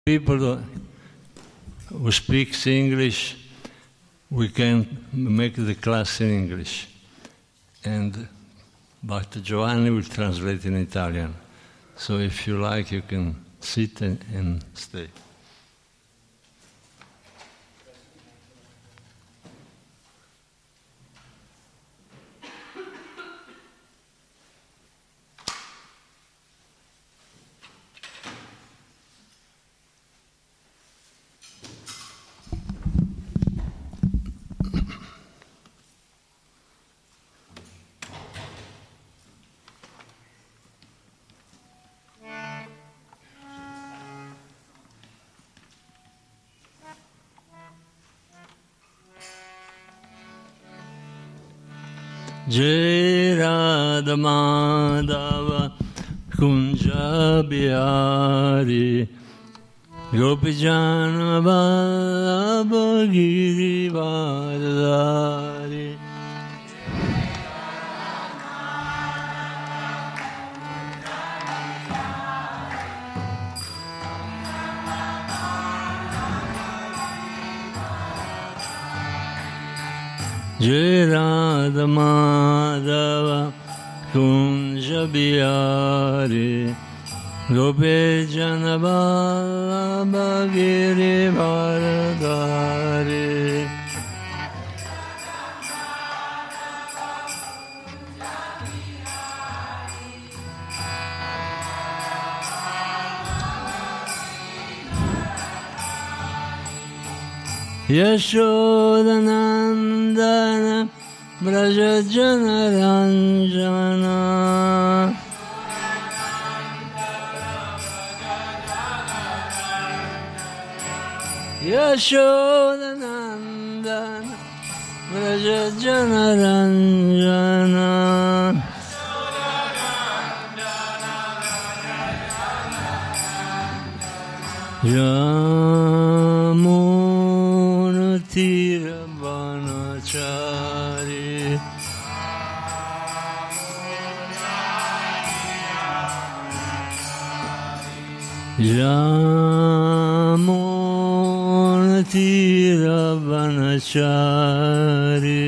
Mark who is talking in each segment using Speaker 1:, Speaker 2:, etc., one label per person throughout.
Speaker 1: People who speak English, we can make the class in English, but Giovanni will translate in Italian. So if you like, you can sit and stay. Jai Radha Madhava Kunja Bihari Gopijana Vallabha Girivardhari Jai Radha Madhava Kunja Bihari Gopijana Vallabha Girivardhari Yashodanandana Brajajana Ranjana Yashodanandana Brajajana Ranjana Yamunatiravanachari Yamunatiravanachari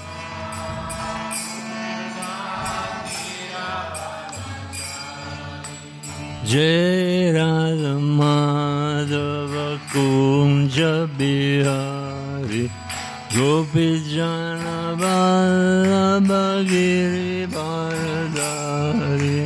Speaker 1: Jai Radha Madhava Kunja Bihari Gopijana Vallabha Girivardhari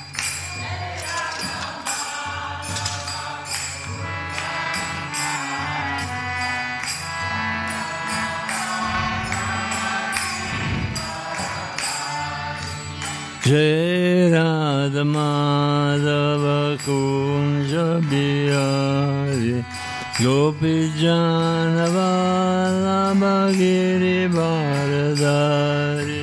Speaker 1: Jai Radha Madhava Kunja Bihari Gopijana Vallabha Girivardhari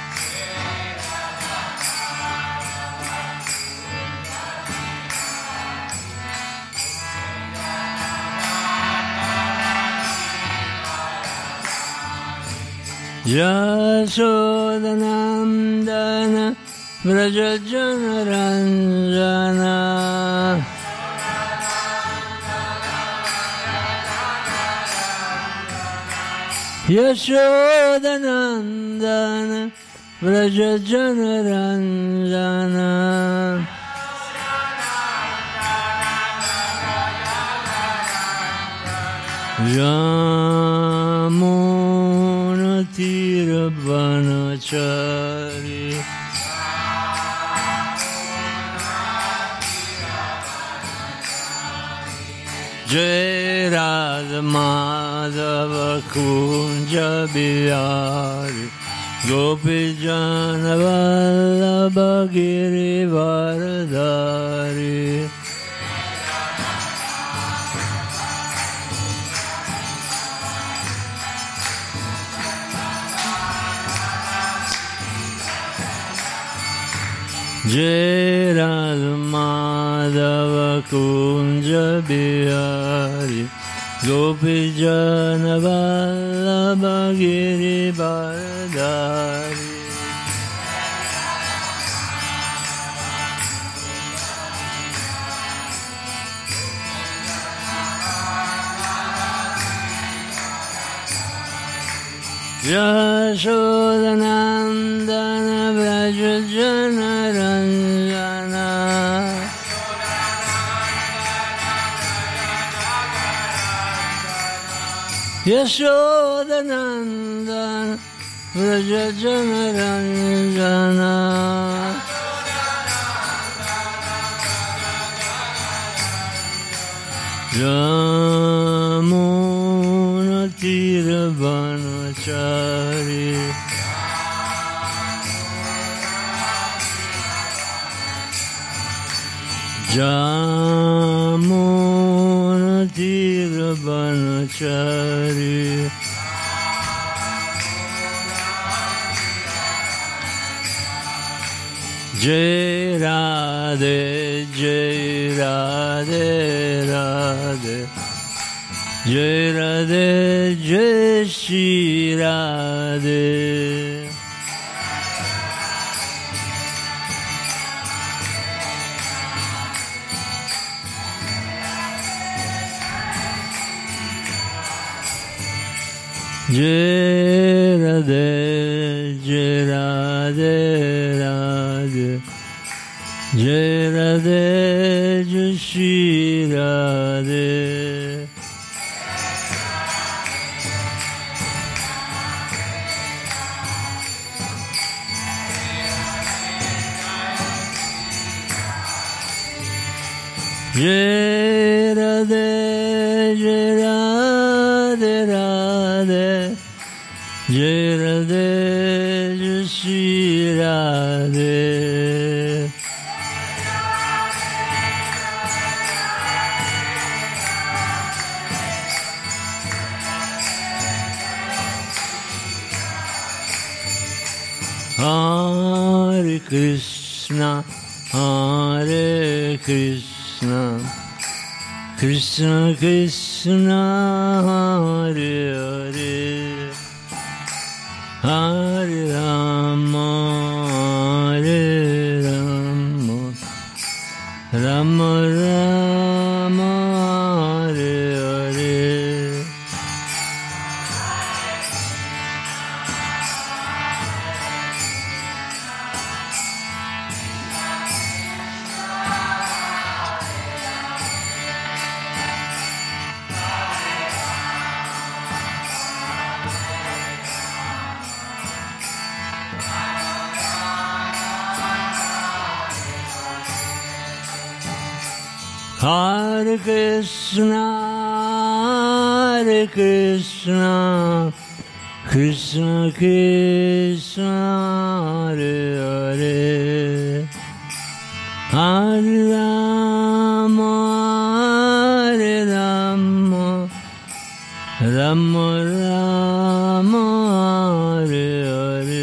Speaker 1: Yashodanandana Vrajajana Ranjana Yashodanandana Vrajajana Ranjana Yamunatiravanachari Jai Radha Madhava Kunja Bihari Gopijana Vallabha Girivardhari Jai Radha Madhava Kunja Bihari Gopijana Vallabha Girivardhari Yashodanandana Vraja Janaranjana Yashodanandana Vraja Janaranjana Jamuna Tiravanachari Jamuna Tiravanachari Jai Radhe, Jai Radhe, Radhe Jai Radhe, Jai Shri Radhe Jai Radhe, Jai Radhe, Radhe Jai Radhe, Jai Shri Radhe Jai Radhe, Jai Radhe, Radhe Jai Radhe, Jai Shri Radhe Hare Krishna, Hare Krishna Krishna Krishna, Hare Hare Hare Rama, Hare Rama Rama Rama, Hare Hare Hare Krishna, Hare Krishna, Krishna Krishna, Hare Hare, Hare Rama, Hare Rama, Rama Rama, Hare Hare.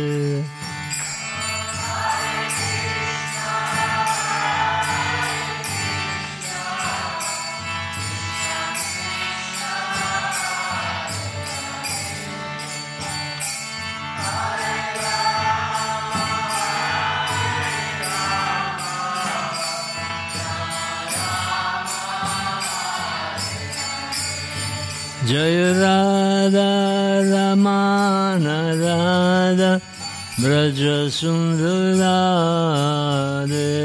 Speaker 1: Jai Radha Ramana Radha Braja Sundara Radhe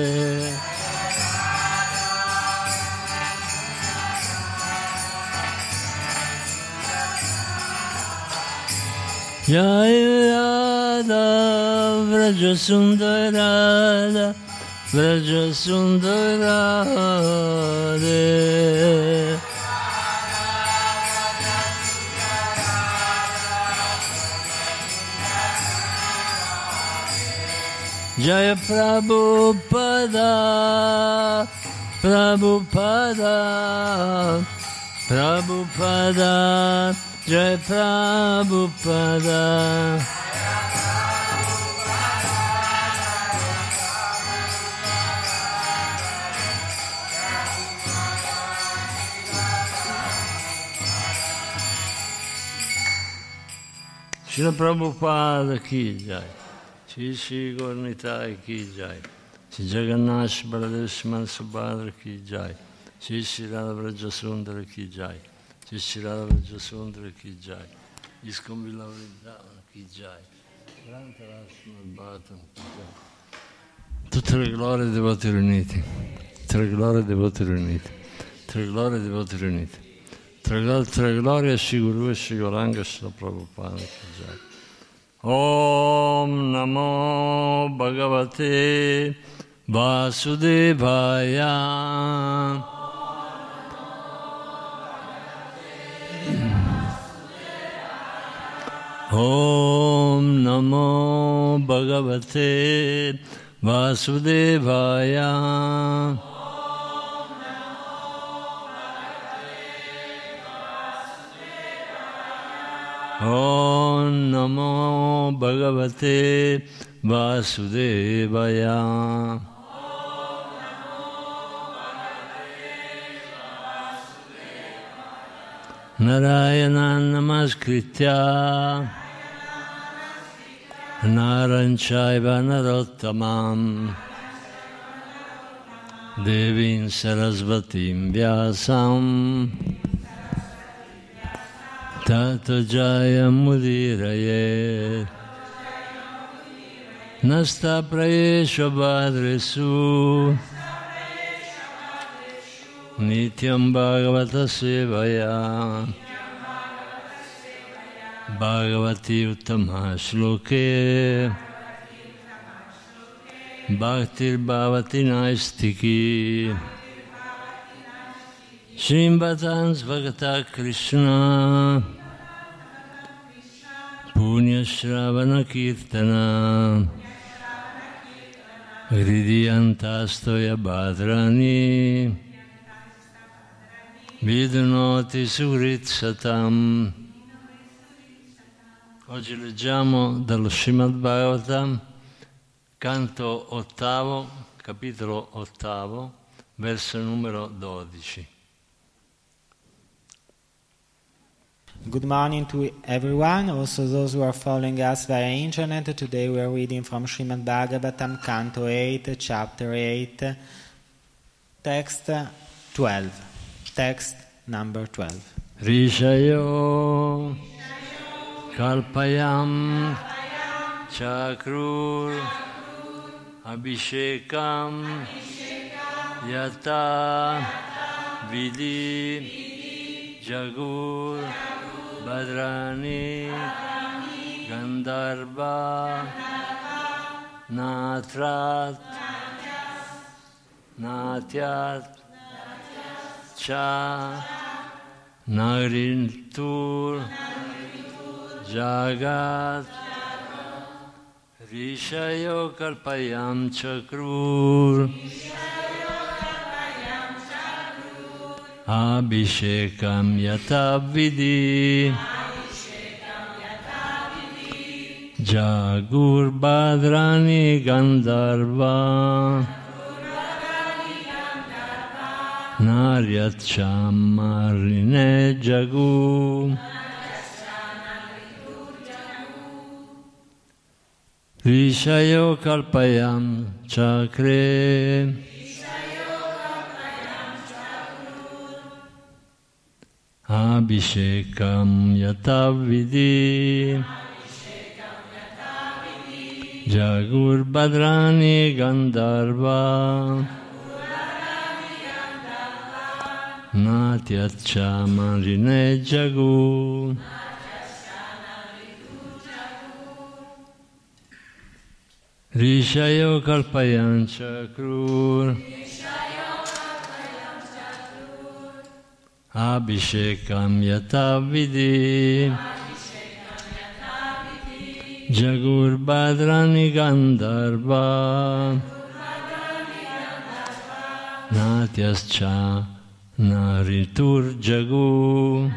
Speaker 1: Jai Radha Braja Sundara Radha Braja Sundara Radhe Jaya Prabhupada, Prabhupada, Prabhupada, Jaya Prabhupada. Srila Prabhupada ki jai. Shri Shri Gauranitai ki jai. Shri Jagannath Baladev Subhadra ki jai. Shri Shri Radha Vraja Sundara ki jai. Shri Shri Radha Vraja Sundara ki jai. Iskon Vrindavan Ki Jai, Grantarashmad Bhattam Ki Jai. Tutte le glorie dei devoti riuniti, tutte le glorie dei devoti riuniti, tutte le glorie dei devoti riuniti, tutte le glorie a Shri Guru e Shri Gauranga Srila Prabhupada Ki Jai. Om Namo Bhagavate Vasudevaya. Om Namo Bhagavate Vasudevaya. Om Namo Bhagavate Vasudevaya. Narayana Namaskritya Naranchaiva Narottamam Devim Sarasvatim Vyasam Tato Jaya Mudiraye Nasta Prayesha Bhadresu Nityam Bhagavata Sevaya Bhagavati Uttama Shloke Bhaktir Bhavati Naistiki Shrimvatans Bhagata Krishna Punya Shravana Kirtana Hridiyantastoya Bhadrani Vidunoti Surit Satam. Oggi leggiamo dallo Srimad Bhagavatam, canto ottavo, capitolo ottavo, verso numero 12.
Speaker 2: Good morning to everyone, also those who are following us via internet. Today we are reading from Srimad Bhagavatam, Canto 8, Chapter 8, Text 12. Text number 12.
Speaker 1: Rishayo Kalpayam Chakrur Abhishekam Yata Vidi Jagur Badrani Gandharva Natrat Natyat Cha Nagrintur Jagat Rishayo Kalpayam Chakrur Abhishekam Yatavidi Jagur Badrani Gandharva Naryat Chamarine Jagu Rishayo Kalpayam Chakre Abhishekam Yatavidi Jagur Badrani Gandharva Natyat Chamarine Jagu. Rishayo Kalpayam Chakrur Abhishekam Yatavidi Jagur Badrani Gandharva Natyascha Naritur Jagu.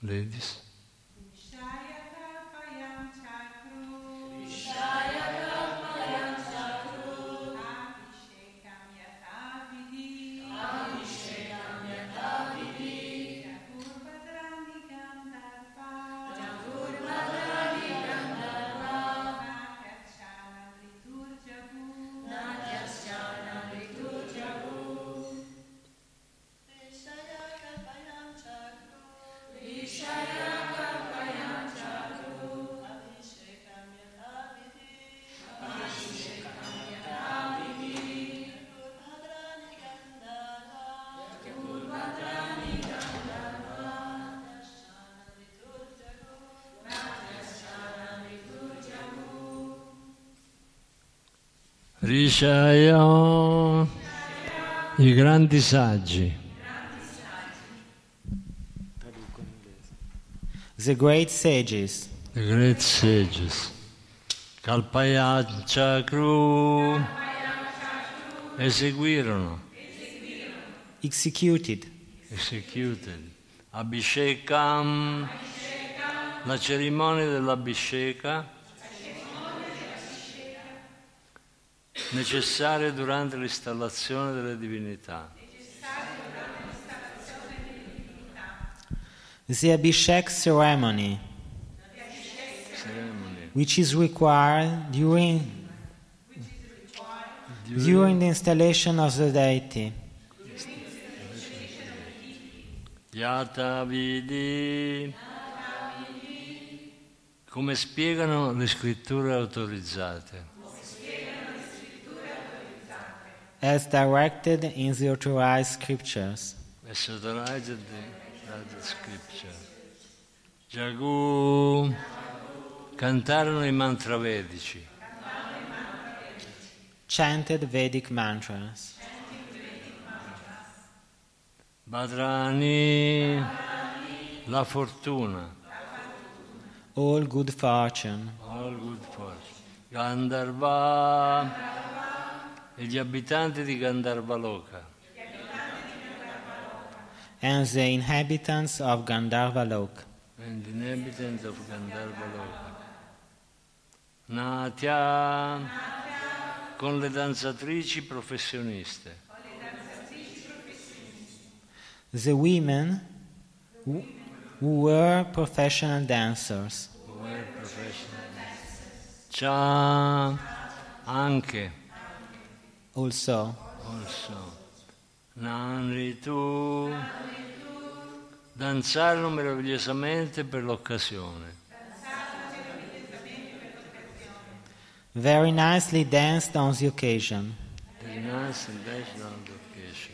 Speaker 1: ladies. Rishaya, i grandi saggi.
Speaker 2: The great sages.
Speaker 1: The great sages. Kalpayachakru eseguirono.
Speaker 2: Executed.
Speaker 1: Abhishekam, la cerimonia dell'Abhisheka, necessaria durante l'installazione delle divinità.
Speaker 2: The Abhishek ceremony, which is required during the installation of the deity.
Speaker 1: Yata vidi, come spiegano le scritture autorizzate.
Speaker 2: As directed in the authorized scriptures.
Speaker 1: As authorized in the scripture. Jagu, cantarono i mantra vedici.
Speaker 2: Chanted Vedic mantras.
Speaker 1: Badrani, la fortuna.
Speaker 2: All good fortune.
Speaker 1: Gandharva, e gli abitanti di Gandharvaloka.
Speaker 2: And the inhabitants of Gandharvaloka.
Speaker 1: And the inhabitants of Gandharvaloka. Natya, con le danzatrici professioniste.
Speaker 2: The women who were professional dancers.
Speaker 1: Cha, anche.
Speaker 2: Also.
Speaker 1: Nanritu, danzarono meravigliosamente per l'occasione.
Speaker 2: Very nicely danced on the occasion.
Speaker 1: Very nicely danced on the occasion.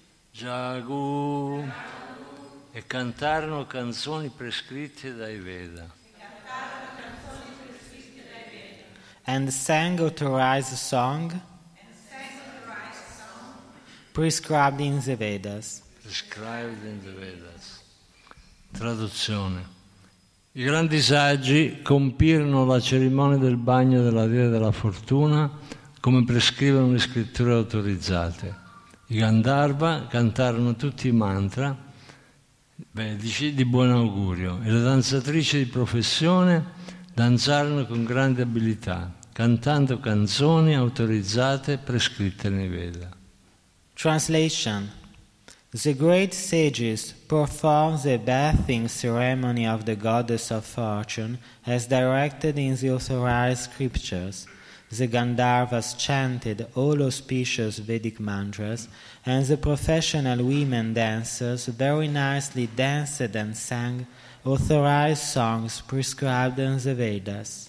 Speaker 1: Jagu, e cantarono canzoni prescritte dai Veda.
Speaker 2: And sang authorized song prescribed in the Vedas.
Speaker 1: Prescribed in the Vedas. Traduzione. I grandi saggi compirono la cerimonia del bagno della dea della fortuna come prescrivono le scritture autorizzate. I Gandharva cantarono tutti i mantra vedici di buon augurio e le danzatrici di professione danzarono con grande abilità, cantando canzoni autorizzate prescritte nei Veda.
Speaker 2: Translation. The great sages performed the bathing ceremony of the goddess of fortune as directed in the authorized scriptures. The Gandharvas chanted all auspicious Vedic mantras, and the professional women dancers very nicely danced and sang authorized songs prescribed in the Vedas.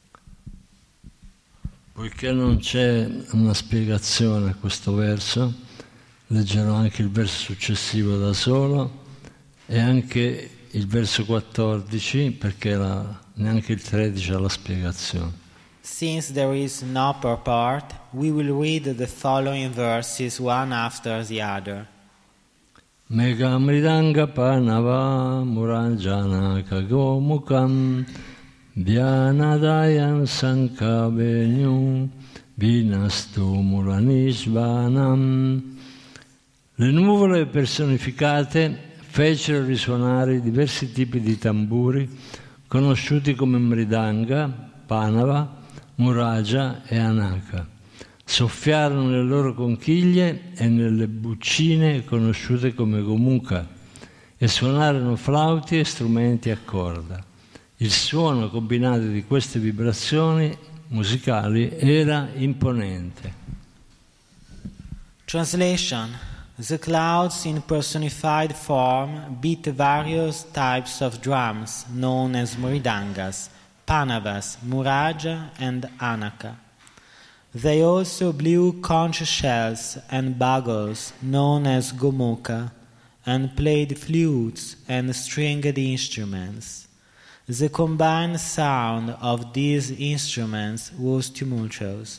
Speaker 1: Poiché non c'è una spiegazione a questo verso, leggerò anche il verso successivo da solo e anche il verso 14, perché neanche il 13 ha la spiegazione.
Speaker 2: Since there is no purport, we will read the following verses one after the other.
Speaker 1: Megamridanga panava muranjana kagomukam Dhyanadayan sankavenyum vinastu muranishvanam. Le nuvole personificate fecero risuonare diversi tipi di tamburi conosciuti come mridanga, panava, muraja e anaka. Soffiarono nelle loro conchiglie e nelle buccine conosciute come gomuka e suonarono flauti e strumenti a corda. Il suono combinato di queste vibrazioni musicali era imponente.
Speaker 2: Translation. The clouds in personified form beat various types of drums known as mridangas, panavas, muraja and anaka. They also blew conch shells and bugles known as gomuka and played flutes and stringed instruments. The combined sound of these instruments was tumultuous.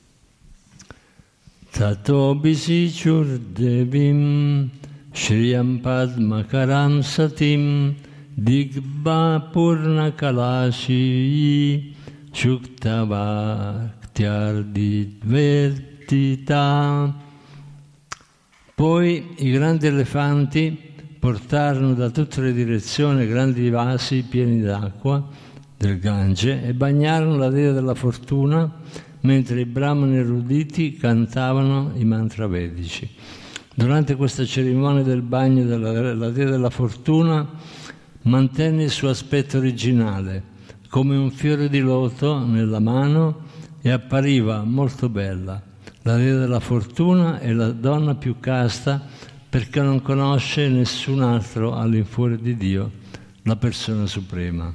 Speaker 1: Tato bisichur devim Shriyam Padmakaram Satim Digba Purna Kalashi Shukta Bhaktyardi Dvertita. Poi i grandi elefanti portarono da tutte le direzioni grandi vasi pieni d'acqua del Gange e bagnarono la dea della fortuna mentre i brahmani eruditi cantavano i mantra vedici. Durante questa cerimonia del bagno della dea della fortuna mantenne il suo aspetto originale, come un fiore di loto nella mano, e appariva molto bella. La dea della fortuna è la donna più casta perché non conosce nessun altro all'infuori di Dio, la persona suprema.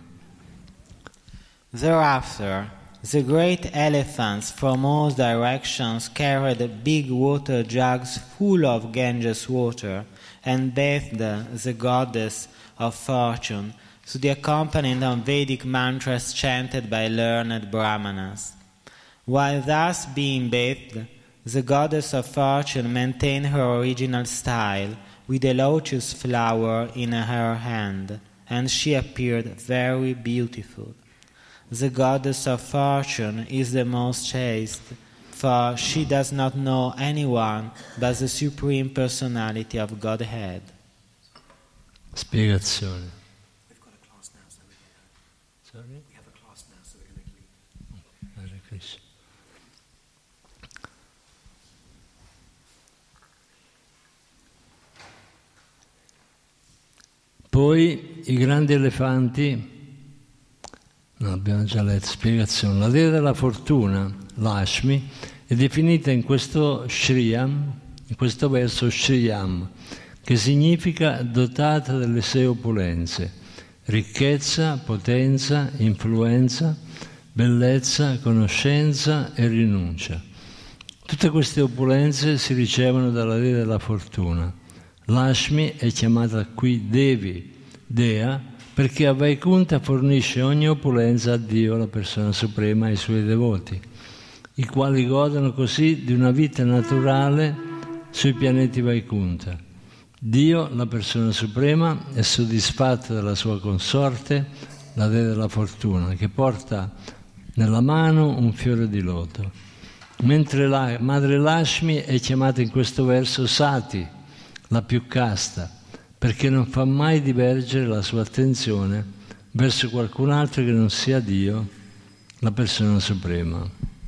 Speaker 2: Thereafter, the great elephants from all directions carried big water jugs full of Ganges water and bathed the goddess of fortune to the accompaniment of Vedic mantras chanted by learned brahmanas. While thus being bathed, the goddess of fortune maintained her original style with a lotus flower in her hand, and she appeared very beautiful. The goddess of fortune is the most chaste, for she does not know anyone but the Supreme Personality of Godhead.
Speaker 1: Spiegazione.
Speaker 3: We've got a class now, so we're going to...
Speaker 1: Sorry?
Speaker 3: We have a class now, so we're going to leave.
Speaker 1: Hare Krishna. Poi i grandi elefanti, no, abbiamo già letto, spiegazione. La dea della fortuna, Lakshmi, è definita in questo Shriyam, in questo verso Shriyam, che significa dotata delle 6 opulenze: ricchezza, potenza, influenza, bellezza, conoscenza e rinuncia. Tutte queste opulenze si ricevono dalla dea della fortuna. Lakshmi è chiamata qui Devi, dea, perché a Vaikunta fornisce ogni opulenza a Dio, la persona suprema, e ai suoi devoti, i quali godono così di una vita naturale sui pianeti Vaikunta. Dio, la persona suprema, è soddisfatto della sua consorte, la dea della fortuna, che porta nella mano un fiore di loto. Mentre la madre Lakshmi è chiamata in questo verso Sati, la più casta, perché non fa mai divergere la sua attenzione verso qualcun altro che non sia Dio, la persona suprema.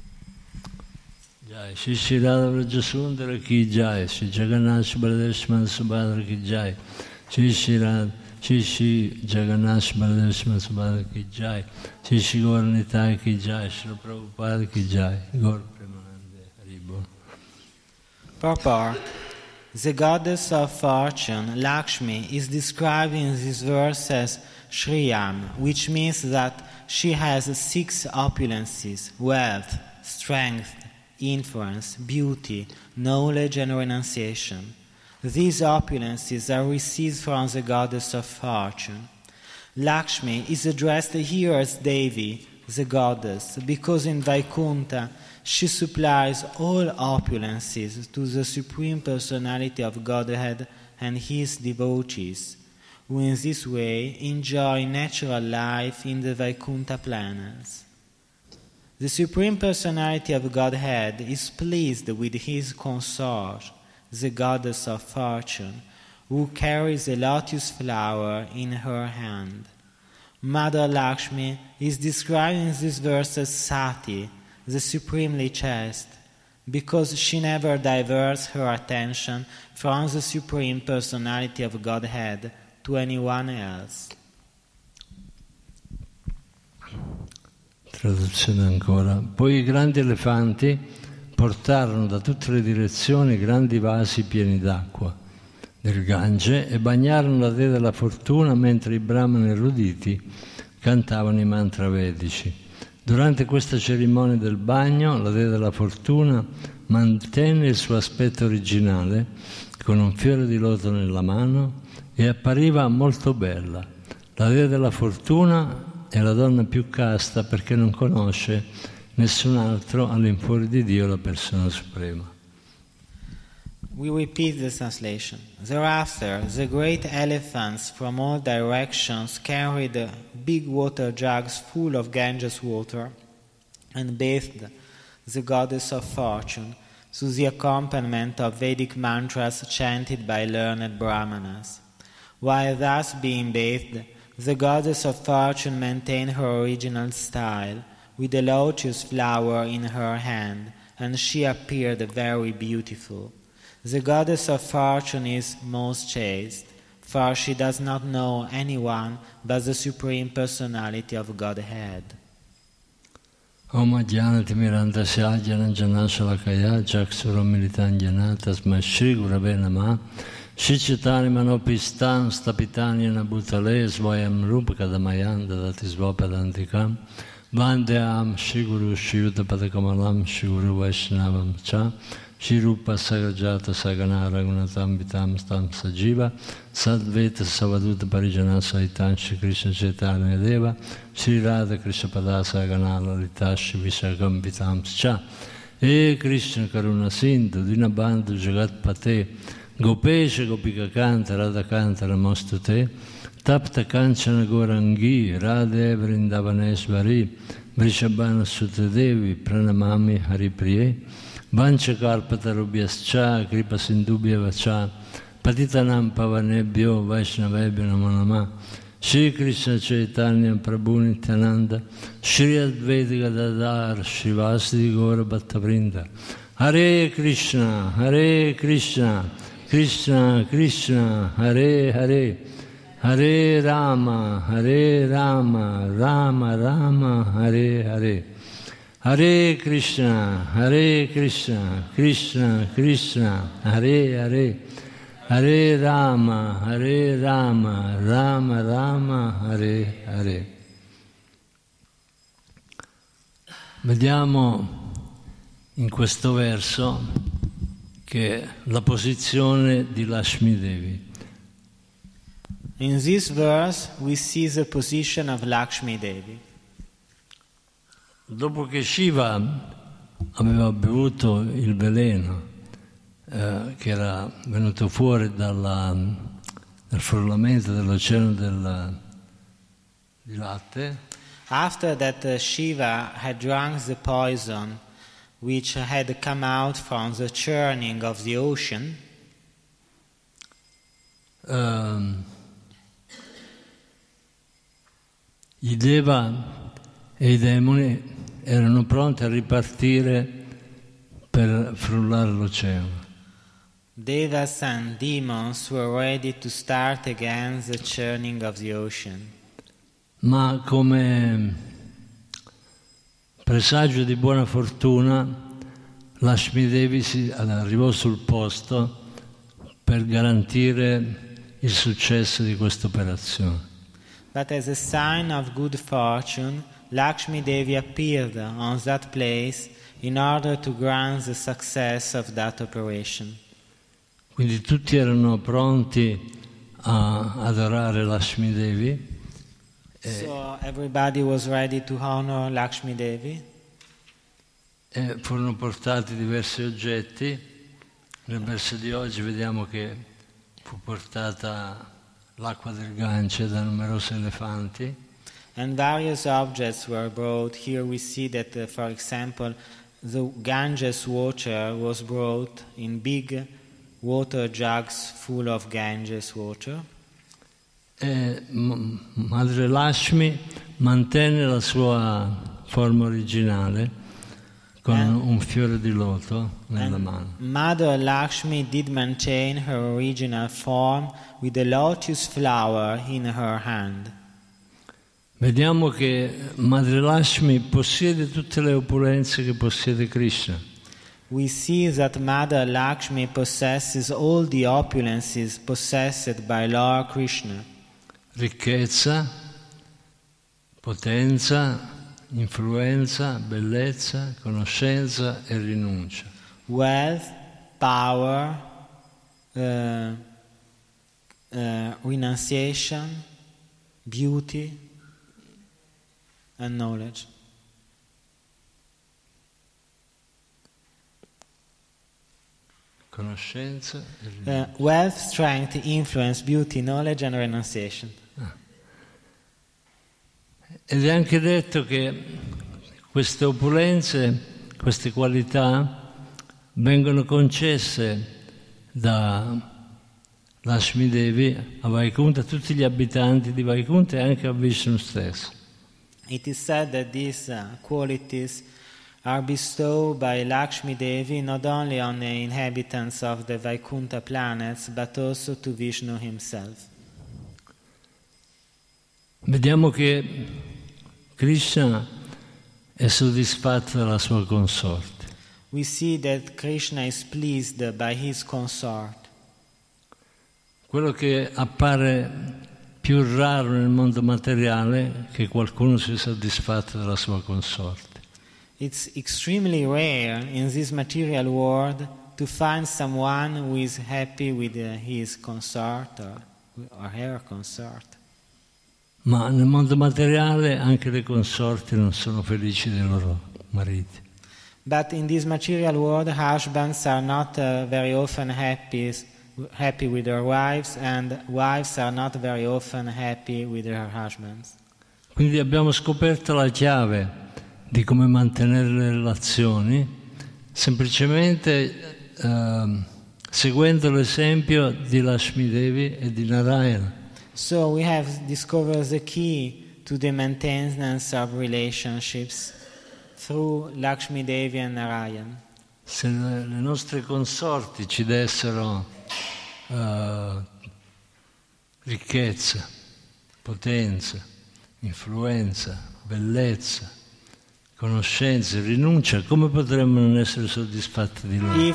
Speaker 1: Jai Shri Shri Radha Vrajasundara ki jai, Shri Jagannath Baladeshman Subhadra ki jai, Shri Shri Jagannath Baladeshman Subhadra ki jai, Shri Shri Gaur Nitai ki jai, Shri Prabhupada ki jai, Gaur Premanande Haribol.
Speaker 2: Purport. The goddess of fortune, Lakshmi, is described in this verse as Shriyam, which means that she has 6 opulences: wealth, strength, influence, beauty, knowledge and renunciation. These opulences are received from the goddess of fortune. Lakshmi is addressed here as Devi, the goddess, because in Vaikunta she supplies all opulences to the Supreme Personality of Godhead and his devotees, who in this way enjoy natural life in the Vaikunta planets. The Supreme Personality of Godhead is pleased with his consort, the goddess of fortune, who carries a lotus flower in her hand. Mother Lakshmi is described in this verse as Sati, the supremely chaste, because she never diverts her attention from the Supreme Personality of Godhead to anyone else.
Speaker 1: Traduzione ancora. Poi i grandi elefanti portarono da tutte le direzioni grandi vasi pieni d'acqua del Gange e bagnarono la dea della fortuna mentre i brahmani eruditi cantavano i mantra vedici. Durante questa cerimonia del bagno, la dea della fortuna mantenne il suo aspetto originale con un fiore di loto nella mano e appariva molto bella. La dea della fortuna è la donna più casta perché non conosce nessun altro all'infuori di Dio, la persona suprema.
Speaker 2: We repeat the translation. Thereafter, the great elephants from all directions carried big water jugs full of Ganges water and bathed the goddess of fortune to the accompaniment of Vedic mantras chanted by learned brahmanas. While thus being bathed, the goddess of fortune maintained her original style, with a lotus flower in her hand, and she appeared very beautiful. The goddess of fortune is most chaste, for she does not know anyone but the Supreme Personality of Godhead.
Speaker 1: Om Ajnanati Mirandasya Jananjanashalakaya Jaksuram Militanjana Tasma Shri Gurave Namah Shri Chaitanya Manopistan Stapitanyana Bhutale Svayam Rupa Kadamayan Dadati Svapadantikam Vandeam Shri Guru Shri Yuta Padakamalam Shri Guru Vaishnavam Cha Shri Rupa Sagrajata Sagana Raghunatam Vitam Stam Sajiva Sadveta Savaduta Parijana Saitan Shri Krishna Chaitanya Deva Shri Radha Krishna Pada Sagana Lalita Shri Vishakam Vitam Cha E Krishna Karuna Sindhu Dinabandhu Jagat Pate Gopesha Gopika Kanta Radha Kanta Namostute Tapta Kanchana Gorangi Radhe Vrindavanesvari Vrishabhana Sutadevi Pranamami Haripriye Vanchakarpatarubhyascha Kripa Sindubhya Vacha Patitanam Pavanebhyo Vaishnavebhyo Namo Namah Shri Krishna Chaitanya Prabhu Nityananda Shri Advaita Gadadhar Srivasadi Gaura Bhattavrinda Hare Krishna Krishna Krishna Hare Hare Hare Rama Rama Rama Hare Hare Hare Krishna Krishna Krishna Hare Hare Hare Rama Rama Rama Hare Hare. Vediamo in questo verso che la posizione di Lakshmi Devi.
Speaker 2: In this verse we see the position of Lakshmi Devi.
Speaker 1: Dopo che Shiva aveva bevuto il veleno che era venuto fuori dal frullamento dell'oceano di latte,
Speaker 2: After that Shiva had drunk the poison which had come out from the churning of the ocean,
Speaker 1: i Deva e i demoni erano pronti a ripartire per frullare l'oceano.
Speaker 2: Devas and demons were ready to start again the churning of the ocean.
Speaker 1: Ma come presagio di buona fortuna, Lakshmi Devi arrivò sul posto per garantire il successo di questa operazione.
Speaker 2: But as a sign of good fortune, Lakshmi Devi appeared on that place in order to grant the success of that operation.
Speaker 1: Quindi tutti erano pronti a adorare Lakshmi Devi.
Speaker 2: So everybody was ready to honor Lakshmi Devi.
Speaker 1: E furono portati diversi oggetti. Nel verso di oggi vediamo che fu portata l'acqua del Gange da numerosi elefanti.
Speaker 2: And various objects were brought. Here we see that, for example, the Ganges water was brought in big water jugs full of Ganges water.
Speaker 1: E Madre Lakshmi mantenne la sua forma originale con un fiore di loto nella mano.
Speaker 2: Mother Lakshmi did maintain her original form with a lotus flower in her hand.
Speaker 1: Vediamo che Madre Lakshmi possiede tutte le opulenze che possiede Krishna.
Speaker 2: We see that Mother Lakshmi possesses all the opulences possessed by Lord Krishna.
Speaker 1: Ricchezza, potenza, influenza, bellezza, conoscenza e rinuncia.
Speaker 2: Wealth, power, renunciation, beauty, and knowledge.
Speaker 1: Conoscenza e rinuncia.
Speaker 2: Wealth, strength, influence, beauty, knowledge, and renunciation.
Speaker 1: Ed è anche detto che queste opulenze, queste qualità vengono concesse da Lakshmi Devi a Vaikuntha, a tutti gli abitanti di Vaikuntha e anche a Vishnu stesso.
Speaker 2: It is said that these qualities are bestowed by Lakshmi Devi not only on the inhabitants of the Vaikuntha planets but also to Vishnu himself.
Speaker 1: Vediamo che Krishna è soddisfatto della sua consorte.
Speaker 2: We see that Krishna is pleased by his consort.
Speaker 1: Quello che appare più raro nel mondo materiale è che qualcuno sia soddisfatto della sua consorte.
Speaker 2: It's extremely rare in this material world to find someone who is happy with his consort or her consort.
Speaker 1: Ma nel mondo materiale anche le consorti non sono felici dei loro mariti.
Speaker 2: But in this material world, husbands are not very often happy with their wives, and wives are not very often happy with their husbands.
Speaker 1: Quindi abbiamo scoperto la chiave di come mantenere le relazioni semplicemente seguendo l'esempio di Lakshmi Devi e di Narayana.
Speaker 2: So we have discovered the key to the maintenance of relationships through Lakshmi Devi and Narayana.
Speaker 1: Se le nostre consorti ci dessero ricchezza, potenza, influenza, bellezza, conoscenza, rinuncia, come potremmo non essere soddisfatti di loro?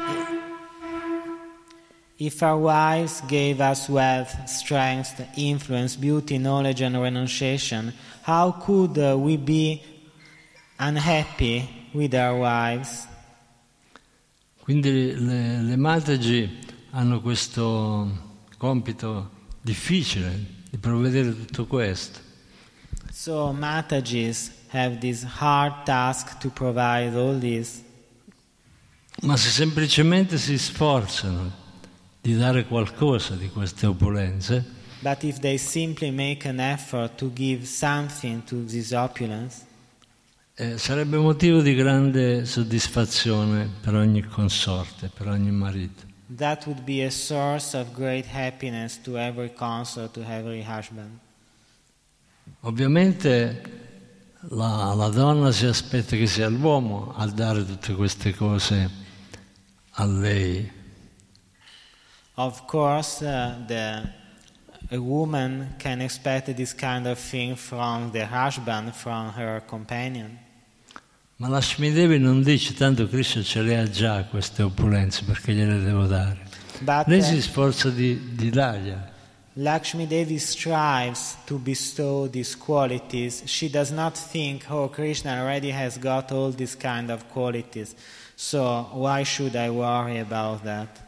Speaker 2: If our wives gave us wealth, strength, influence, beauty, knowledge and renunciation, how could we be unhappy with our wives?
Speaker 1: Quindi le Mataji hanno questo compito difficile di provvedere tutto questo.
Speaker 2: So Matajis have this hard task to provide all this.
Speaker 1: Ma se semplicemente si sforzano di dare qualcosa di queste opulenze,
Speaker 2: but if they simply make an effort to give something to this opulence,
Speaker 1: sarebbe motivo di grande soddisfazione per ogni consorte, per ogni marito.
Speaker 2: That would be a source of great happiness to every consort, to every husband.
Speaker 1: Ovviamente la donna si aspetta che sia l'uomo a dare tutte queste cose a lei.
Speaker 2: Of course, a woman can expect this kind of thing from the husband, from her companion.
Speaker 1: Ma Lakshmi Devi non dice tanto Krishna ce le ha già queste opulenze perché gliele devo dare.
Speaker 2: But,
Speaker 1: lei si sforza di dargliele.
Speaker 2: Lakshmi Devi strives to bestow these qualities. She does not think, oh, Krishna already has got all these kind of qualities, so why should I worry about that?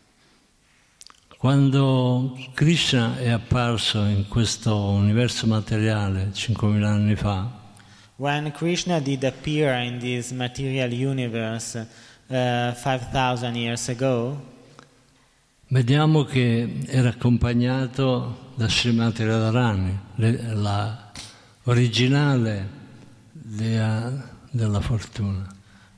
Speaker 1: Quando Krishna è apparso in questo universo materiale 5.000 anni fa,
Speaker 2: when Krishna did appear in this material universe 5,000 years ago,
Speaker 1: vediamo che era accompagnato da Srimati Radharani, la originale dea della fortuna.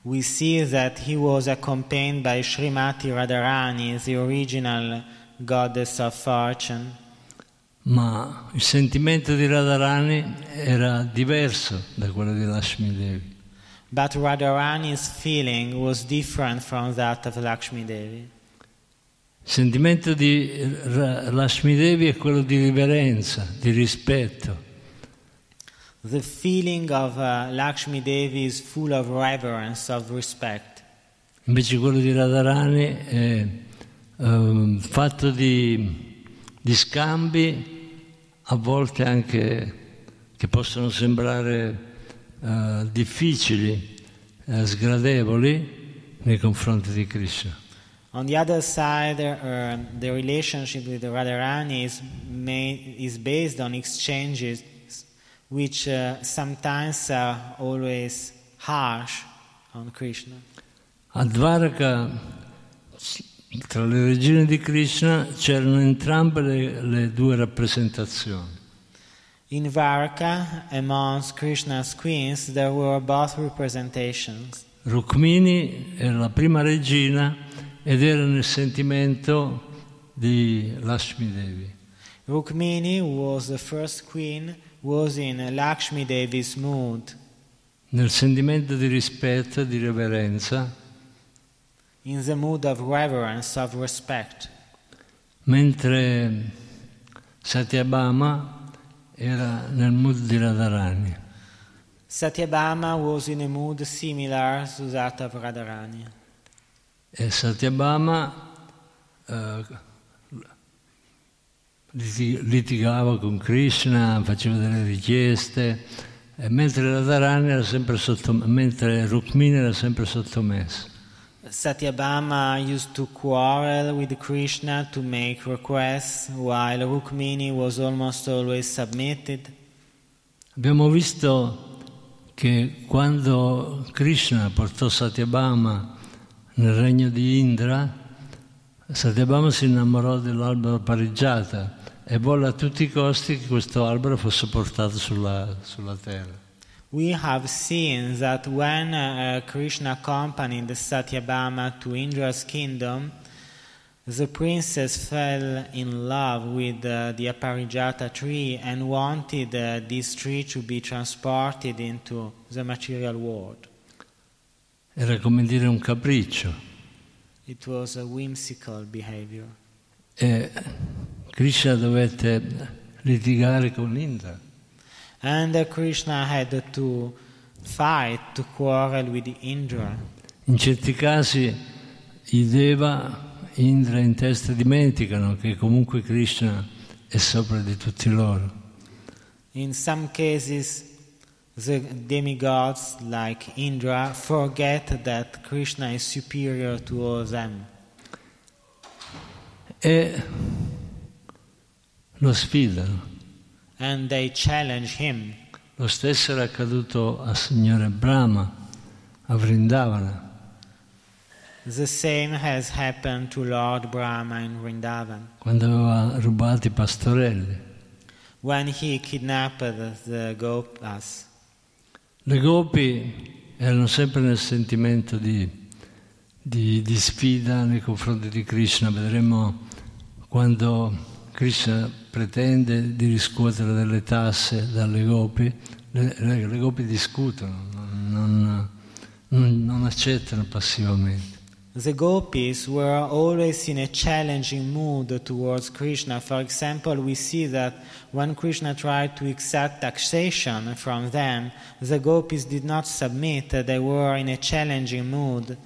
Speaker 2: we see that he was accompanied by Srimati Radharani, the original goddess of fortune.
Speaker 1: Ma il sentimento di Radharani era diverso da quello di Lakshmi Devi.
Speaker 2: But Radharani's feeling was different from that of Lakshmi Devi.
Speaker 1: Il sentimento di Lakshmi Devi è quello di riverenza, di rispetto.
Speaker 2: The feeling of Lakshmi Devi is full of reverence, of respect.
Speaker 1: Invece quello di Radharani è fatto di scambi, a volte anche che possono sembrare difficili, sgradevoli nei confronti di Krishna.
Speaker 2: On the other side, the relationship with Radharani is based on exchanges which sometimes are always harsh on Krishna.
Speaker 1: A Dvaraka, tra le regine di Krishna, c'erano entrambe le due rappresentazioni.
Speaker 2: In Dvaraka, amongst Krishna's queens, there were both representations.
Speaker 1: Rukmini era la prima regina ed era nel sentimento di Lakshmi Devi.
Speaker 2: Rukmini was the first queen, was in Lakshmi Devi's mood,
Speaker 1: Nel sentimento di rispetto e di reverenza,
Speaker 2: in the mood of reverence, of respect.
Speaker 1: mentre Satyabhama era nel mood di Radharani.
Speaker 2: Satyabhama was in a mood similar to that of Radharani.
Speaker 1: E Satyabhama litigava con Krishna, faceva delle richieste, mentre Radharani era sempre mentre Rukmini era sempre sottomessa.
Speaker 2: Satyabhama used to quarrel with Krishna to make requests, while Rukmini was almost always submitted.
Speaker 1: Abbiamo visto che quando Krishna portò Satyabhama nel regno di Indra, Satyabhama si innamorò dell'albero Parijata e volle a tutti i costi che questo albero fosse portato sulla terra.
Speaker 2: We have seen that when Krishna accompanied Satyabhama to Indra's kingdom, the princess fell in love with the Aparijata tree and wanted this tree to be transported into the material world.
Speaker 1: Era come dire un capriccio.
Speaker 2: It was a whimsical behavior.
Speaker 1: E Krishna dovette litigare con Indra.
Speaker 2: And Krishna had to fight, to quarrel with Indra.
Speaker 1: In certi casi i Deva, Indra in testa dimenticano che comunque Krishna è sopra di tutti loro.
Speaker 2: In some cases, the demigods like Indra forget that Krishna is superior to all them.
Speaker 1: E lo sfidano.
Speaker 2: And they challenge him.
Speaker 1: Lo stesso era accaduto al Signore Brahma, a Vrindavana.
Speaker 2: The same has happened to Lord Brahma in Vrindavan,
Speaker 1: Quando aveva rubato i pastorelli.
Speaker 2: when he kidnapped the gopas.
Speaker 1: Le gopi erano sempre nel sentimento di sfida nei confronti di Krishna. Vedremo quando Krishna pretende di riscuotere delle tasse dalle gopi, le gopi discutono, non accettano passivamente.
Speaker 2: The gopis were always in a challenging mood towards Krishna. For example, we see that when Krishna tried to exact taxation from them, the gopis did not submit, they were in a challenging mood.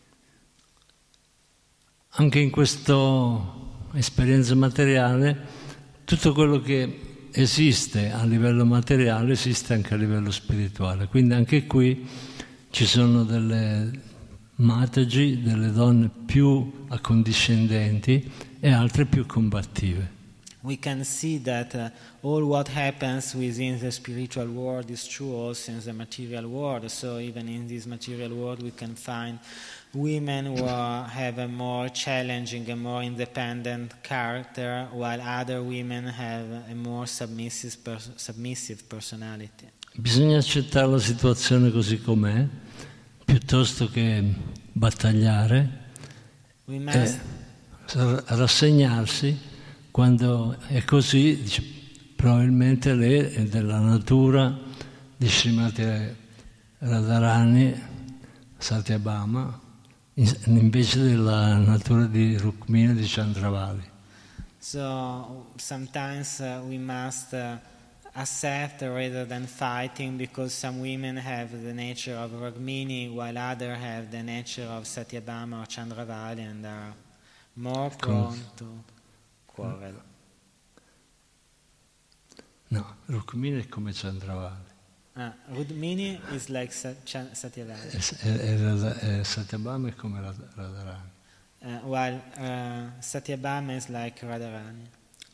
Speaker 1: Anche in questa esperienza materiale, tutto quello che esiste a livello materiale esiste anche a livello spirituale. Quindi anche qui ci sono delle Mataji, delle donne più accondiscendenti e altre più combattive.
Speaker 2: We can see that all what happens within the spiritual world is true also in the material world. So even in this material world we can find women who have a more challenging, a more independent character, while other women have a more submissive personality.
Speaker 1: Bisogna accettare la situazione così com'è, piuttosto che battagliare,
Speaker 2: We must
Speaker 1: rassegnarsi quando è così, probabilmente lei è della natura di Srimati Radharani Satyabhama invece della natura di Rukmini e di Chandravali.
Speaker 2: So sometimes we must accept rather than fighting, because some women have the nature of Rukmini while others have the nature of Satyabhama or Chandravali and are more prone to quarrel.
Speaker 1: No, Rukmini è come Chandravali.
Speaker 2: Rukmini is like Satyavali,
Speaker 1: E Satyabhama è come Radharani.
Speaker 2: while Satyabhama is like Radharani.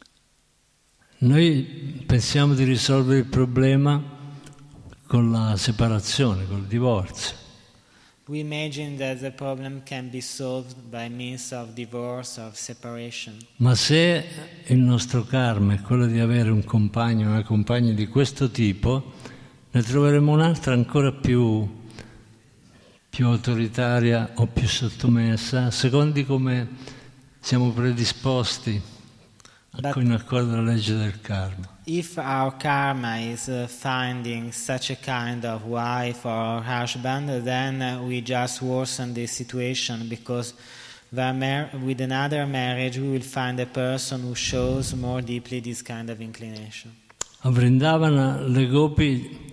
Speaker 1: Noi pensiamo di risolvere il problema con la separazione, col divorzio.
Speaker 2: We imagine that the problem can be solved by means of divorce or separation.
Speaker 1: Ma se il nostro karma è quello di avere un compagno o una compagna di questo tipo, ne troveremo un'altra ancora più autoritaria o più sottomessa, secondo come siamo predisposti in accordo alla legge del karma.
Speaker 2: If our karma is finding such a kind of wife or husband, then we just worsen the situation, because with another marriage we will find a person who shows more deeply this kind of inclination.
Speaker 1: A Vrindavana le gopi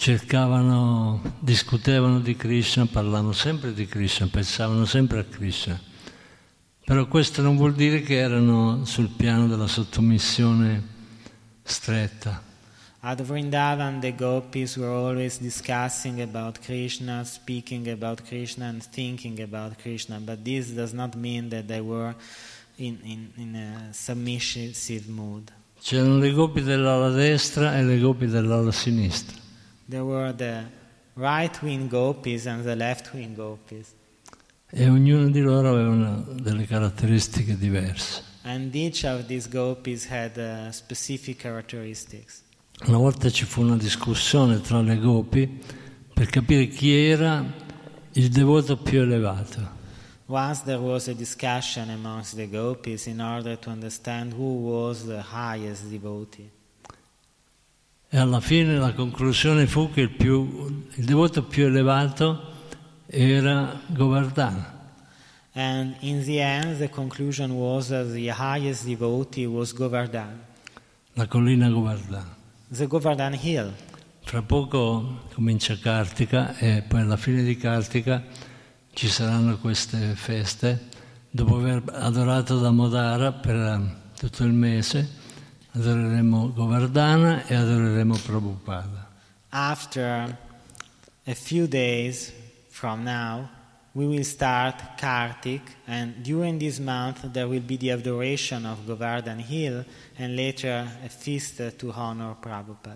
Speaker 1: discutevano di Krishna, parlavano sempre di Krishna, pensavano sempre a Krishna. Però questo non vuol dire che erano sul piano della sottomissione stretta.
Speaker 2: At Vrindavan, the gopis were always discussing about Krishna, speaking about Krishna and thinking about Krishna, but this does not mean that they were in a submissive mood.
Speaker 1: C'erano le gopi dell'ala destra e le gopi dell'ala sinistra.
Speaker 2: There were the right-wing gopis and the left-wing gopis.
Speaker 1: E ognuno di loro aveva delle caratteristiche diverse.
Speaker 2: And each of these gopis had specific characteristics.
Speaker 1: Una volta ci fu una discussione tra le gopi per capire chi era il devoto più elevato.
Speaker 2: Once there was a discussion amongst the gopis in order to understand who was the highest devotee.
Speaker 1: E alla fine la conclusione fu che il devoto più elevato era Govardhana.
Speaker 2: And in the end, the conclusion was that the highest devotee was Govardhana,
Speaker 1: La collina Govardhana.
Speaker 2: the Govardhana hill.
Speaker 1: Fra poco comincia Kartika e poi alla fine di Kartika ci saranno queste feste. Dopo aver adorato Damodara per tutto il mese, adoreremo Govardhana e adoreremo Prabhupada.
Speaker 2: After a few days from now, we will start Kartik, and during this month there will be the adoration of Govardhan Hill, and later a feast to honor Prabhupada.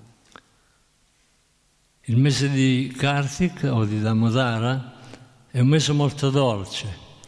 Speaker 1: Il mese di Kartik o di Damodara è un mese molto dolce.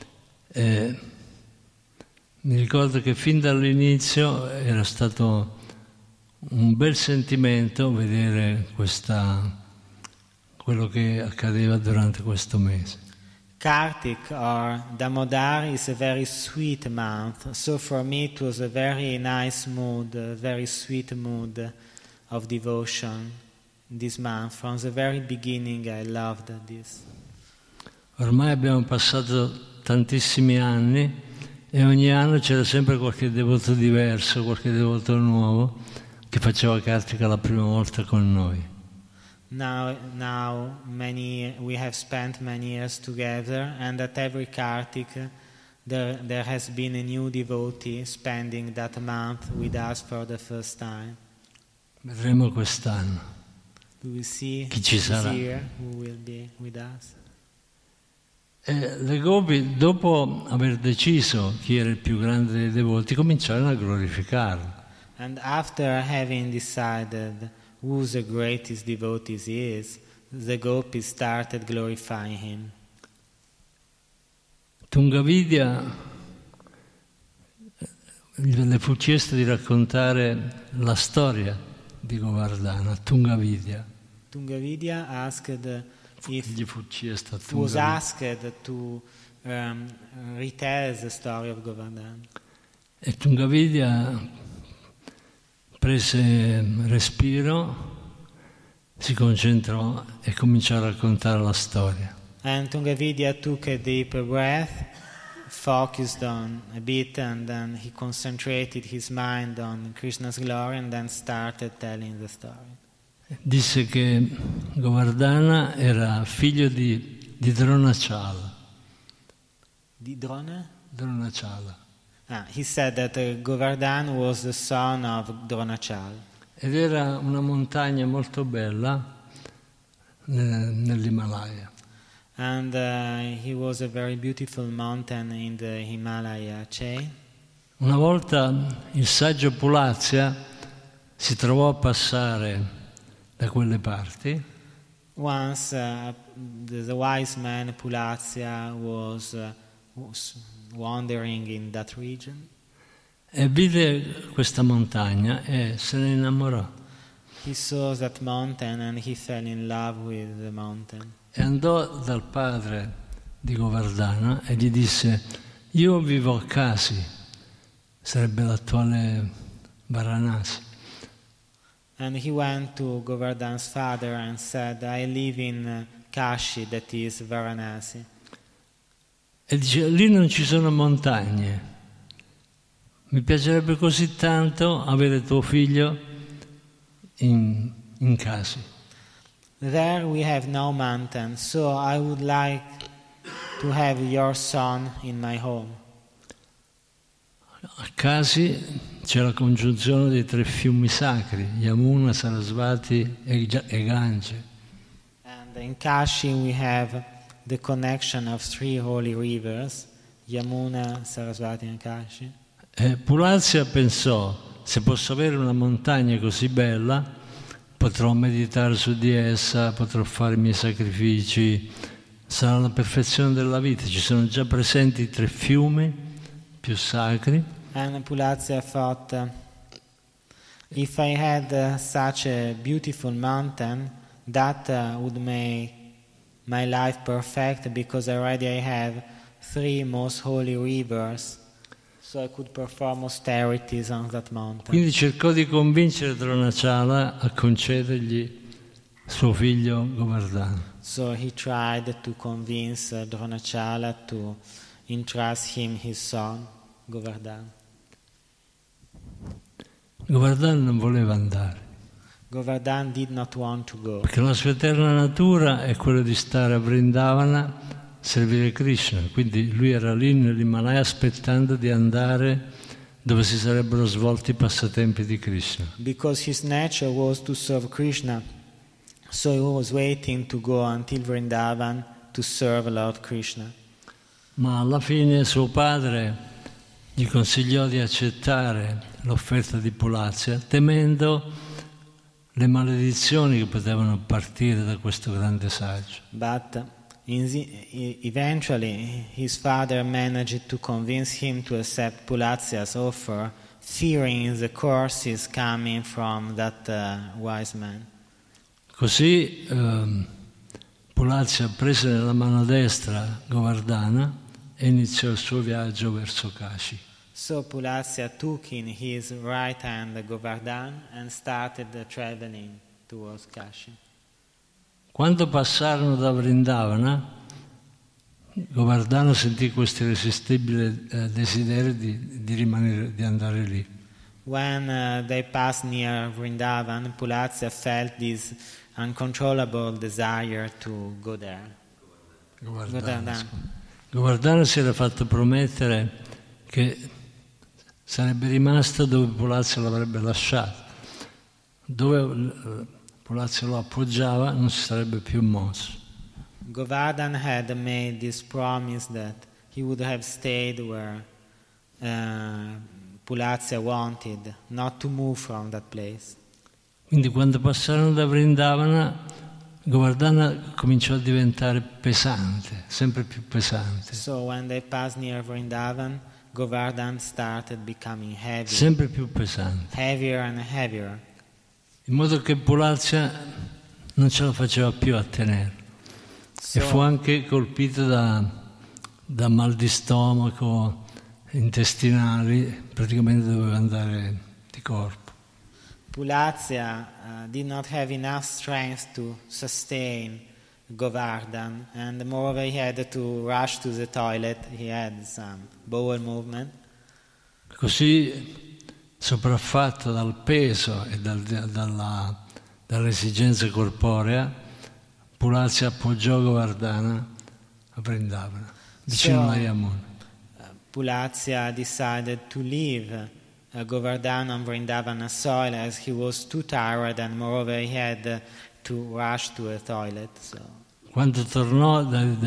Speaker 1: Mi ricordo che fin dall'inizio era stato un bel sentimento vedere quello che accadeva durante questo mese.
Speaker 2: Kartik or Damodar is a very sweet month, so for me it was a very nice mood, a very sweet mood of devotion this month. From the very beginning I loved this.
Speaker 1: Ormai abbiamo passato tantissimi anni e ogni anno c'era sempre qualche devoto diverso, qualche devoto nuovo che faceva Kartika la prima volta con noi.
Speaker 2: Now we have spent many years together, and at every Kartik there has been a new devotee spending that month with us for the first time.
Speaker 1: Vedremo quest'anno
Speaker 2: We will see
Speaker 1: chi ci
Speaker 2: this
Speaker 1: sarà.
Speaker 2: year who will be with us.
Speaker 1: E le gopi, dopo aver deciso chi era il più grande dei devoti, cominciarono a glorificarlo.
Speaker 2: And after having decided who the greatest devotee is, the gopis started glorifying him.
Speaker 1: Tungavidya le fu chiesto di raccontare la storia di Govardhana, Tungavidya.
Speaker 2: Tungavidya if
Speaker 1: gli fu chiesto a
Speaker 2: was
Speaker 1: Tungavidya.
Speaker 2: asked to retell the story of Govardhan.
Speaker 1: E Tungavidya prese respiro, si concentrò e cominciò a raccontare la storia.
Speaker 2: And Tungavidya took a deep breath, focused on a bit, and then he concentrated his mind on Krishna's glory and then started telling the story.
Speaker 1: Disse che Govardhana era figlio di Dronachala.
Speaker 2: Di Drona?
Speaker 1: Dronachala.
Speaker 2: He said that Govardhan was the son of Dronachala.
Speaker 1: Ed era una montagna molto bella nell'Himalaya.
Speaker 2: And he was a very beautiful mountain in the Himalaya chain.
Speaker 1: Una volta il saggio Pulazya si trovò a passare da quelle parti
Speaker 2: Once the wise man Pulazya was wandering in that region.
Speaker 1: e vide questa montagna e se ne innamorò.
Speaker 2: He saw that mountain and he fell in love with the mountain.
Speaker 1: E andò dal padre di Govardhana e gli disse: io vivo a Kasi, sarebbe l'attuale Varanasi.
Speaker 2: And he went to Govardhan's father and said, I live in Kashi, that is Varanasi.
Speaker 1: E dice: lì non ci sono montagne, mi piacerebbe così tanto avere tuo figlio in Kasi.
Speaker 2: There we have no mountain, so I would like to have your son in my home.
Speaker 1: A Kasi c'è la congiunzione dei 3 fiumi sacri, Yamuna, Sarasvati e Gange.
Speaker 2: And in Kashi we have the connection of 3 holy rivers, Yamuna, Sarasvati and Kashi.
Speaker 1: E Pulazya pensò: se posso avere una montagna così bella, potrò meditare su di essa, potrò fare i miei sacrifici, sarà la perfezione della vita. Ci sono già presenti 3 fiumi più sacri.
Speaker 2: And Pulazya thought, if I had such a beautiful mountain, that would make my life perfect, because already I have 3 most holy rivers, so I could perform austerities on that mountain.
Speaker 1: Quindi cercò di convincere Dronachala a concedergli suo figlio Govardhana.
Speaker 2: So he tried to convince Dronachala to entrust him his son, Govardhana.
Speaker 1: Govardhana non voleva andare,
Speaker 2: Govardhan did not want to go,
Speaker 1: perché la sua eterna natura è quella di stare a Vrindavana, servire Krishna. Quindi lui era lì nell'Himalaya aspettando di andare dove si sarebbero svolti i passatempi di Krishna.
Speaker 2: because his nature was to serve Krishna. So he was waiting to go until Vrindavan to serve Lord Krishna.
Speaker 1: Ma alla fine suo padre gli consigliò di accettare l'offerta di Pulazya, temendo le maledizioni che potevano partire da questo grande saggio.
Speaker 2: But eventually his father managed to convince him to accept Pulazya's offer, fearing the curses coming from that wise man.
Speaker 1: Così Pulazya prese nella mano destra Govardhana e iniziò il suo viaggio verso Kashi.
Speaker 2: So Pulazya took in his right hand Govardhan and started traveling towards Kashi.
Speaker 1: Quando passarono da Vrindavana, Govardhana sentì questo irresistibile desiderio di rimanere, di andare lì.
Speaker 2: When they passed near Vrindavan, Pulazya felt this uncontrollable desire to go there.
Speaker 1: Govardhana si era fatto promettere che sarebbe rimasto dove Pulazya l'avrebbe lasciato. Dove Pulazya lo appoggiava non si sarebbe più mosso.
Speaker 2: Govardhan had made this promise that he would have stayed where Pulazya wanted, not to move from that place.
Speaker 1: Quindi quando passarono da Vrindavana, Govardhana cominciò a diventare pesante, sempre più pesante.
Speaker 2: So when they passed near Vrindavan, Govardhan started becoming heavy,
Speaker 1: Sempre più pesante.
Speaker 2: heavier and heavier.
Speaker 1: In modo che Pulazya non ce la faceva più a tenere. E fu anche colpito da mal di stomaco, intestinali, praticamente doveva andare di corpo.
Speaker 2: Pulazya did not have enough strength to sustain Govardhan, and moreover he had to rush to the toilet. He had some bowel movement.
Speaker 1: Così, sopraffatto dal peso e dall'esigenza corporea, Pulazya appoggiò Govardhana a Vrindavana, vicino a Yamuna.
Speaker 2: Pulazya decided to leave Govardhana on Vrindavana soil as he was too tired, and moreover he had to rush to a toilet. So.
Speaker 1: Quando tornò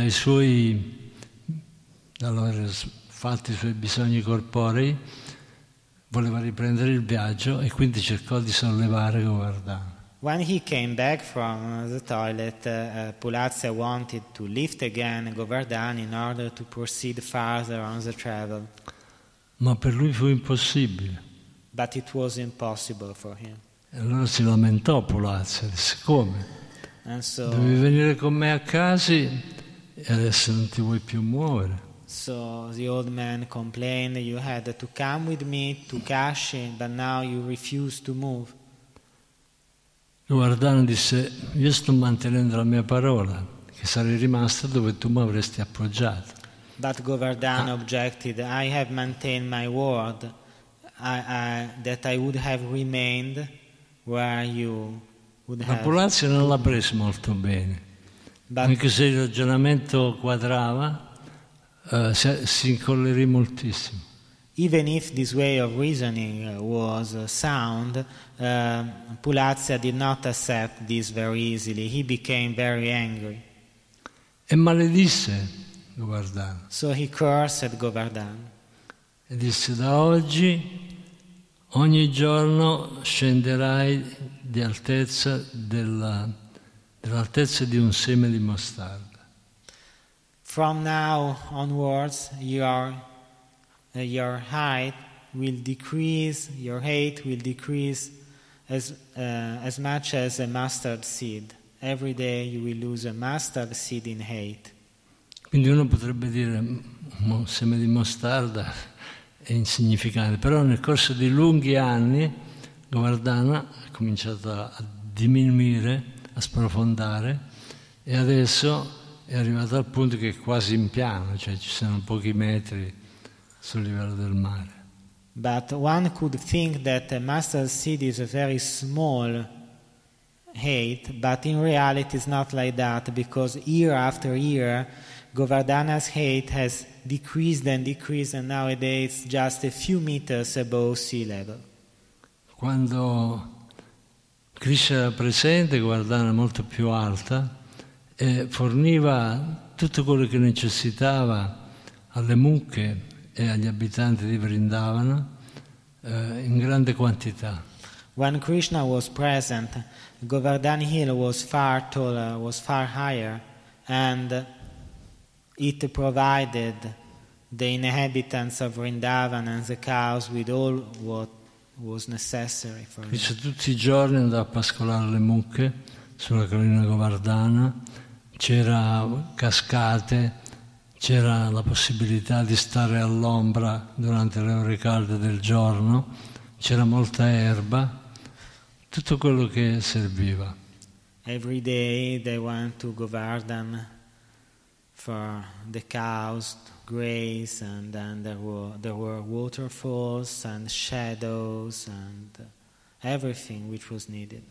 Speaker 1: dall'aver fatto i suoi bisogni corporei, voleva riprendere il viaggio e quindi cercò di sollevare Govardhana.
Speaker 2: When he came back from the toilet, Pulazya wanted to lift again Govardhana in order to proceed farther on the travel.
Speaker 1: Ma per lui fu impossibile.
Speaker 2: But it was impossible for him.
Speaker 1: E allora si lamentò Pulazya, disse: come?
Speaker 2: And so,
Speaker 1: Devi venire con me a Kasi e adesso non ti vuoi più muovere.
Speaker 2: so the old man complained, you had to come with me to Kashi, but now you refuse to move.
Speaker 1: Govardhana disse: io sto mantenendo la mia parola, che sarei rimasta dove tu mi avresti appoggiato.
Speaker 2: But Govardhana objected, I have maintained my word, that I would have remained where you would
Speaker 1: Ma
Speaker 2: have.
Speaker 1: Pulazya non l'ha preso molto bene,
Speaker 2: But,
Speaker 1: anche se il ragionamento quadrava, si incollerì moltissimo.
Speaker 2: even if this way of reasoning was sound, Pulazya did not accept this very easily. He became very angry.
Speaker 1: E maledisse Govardhana
Speaker 2: So he cursed Govardhana.
Speaker 1: e disse: da oggi ogni giorno scenderai di altezza dell'altezza di un seme di mostarda.
Speaker 2: From now onwards, your height will decrease, your height will decrease as much as a mustard seed. Every day you will lose a mustard seed in height.
Speaker 1: Quindi uno potrebbe dire: un seme di mostarda è insignificante, però nel corso di lunghi anni Govardhana ha cominciato a diminuire, a sprofondare, e adesso è arrivato al punto che è quasi in piano, cioè ci sono pochi metri sul livello del mare.
Speaker 2: But one could think that a mustard seed is a very small height, but in reality it's not like that, because year after year Govardhana's height has decreased and decreased, and nowadays it's just a few meters above sea level.
Speaker 1: Quando Krishna era presente, Govardhana era molto più alta e forniva tutto quello che necessitava alle mucche e agli abitanti di Vrindavana in grande quantità.
Speaker 2: When Krishna was present, Govardhan hill was far taller, was far higher, and it provided the inhabitants of Vrindavan and the cows with all what was necessary for them.
Speaker 1: Krishna tutti i giorni andava a pascolare le mucche sulla collina Govardhana, c'era cascate, c'era la possibilità di stare all'ombra durante le ore calde del giorno, c'era molta erba, tutto quello che serviva.
Speaker 2: Every day they went to Govardhan for the cows to graze, and then there were waterfalls and shadows and everything which was needed.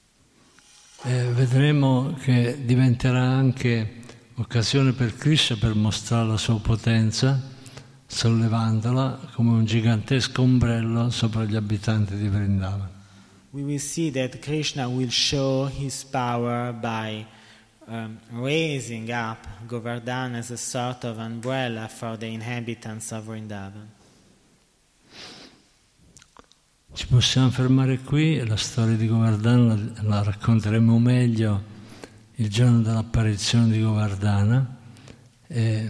Speaker 1: Vedremo che diventerà anche occasione per Krishna per mostrare la sua potenza, sollevandola come un gigantesco ombrello sopra gli abitanti di Vrindavan.
Speaker 2: We will see that Krishna will show his power by raising up Govardhan as a sort of umbrella for the inhabitants of Vrindavan.
Speaker 1: Ci possiamo fermare qui, la storia di Govardhana la racconteremo meglio il giorno dell'apparizione di Govardhana e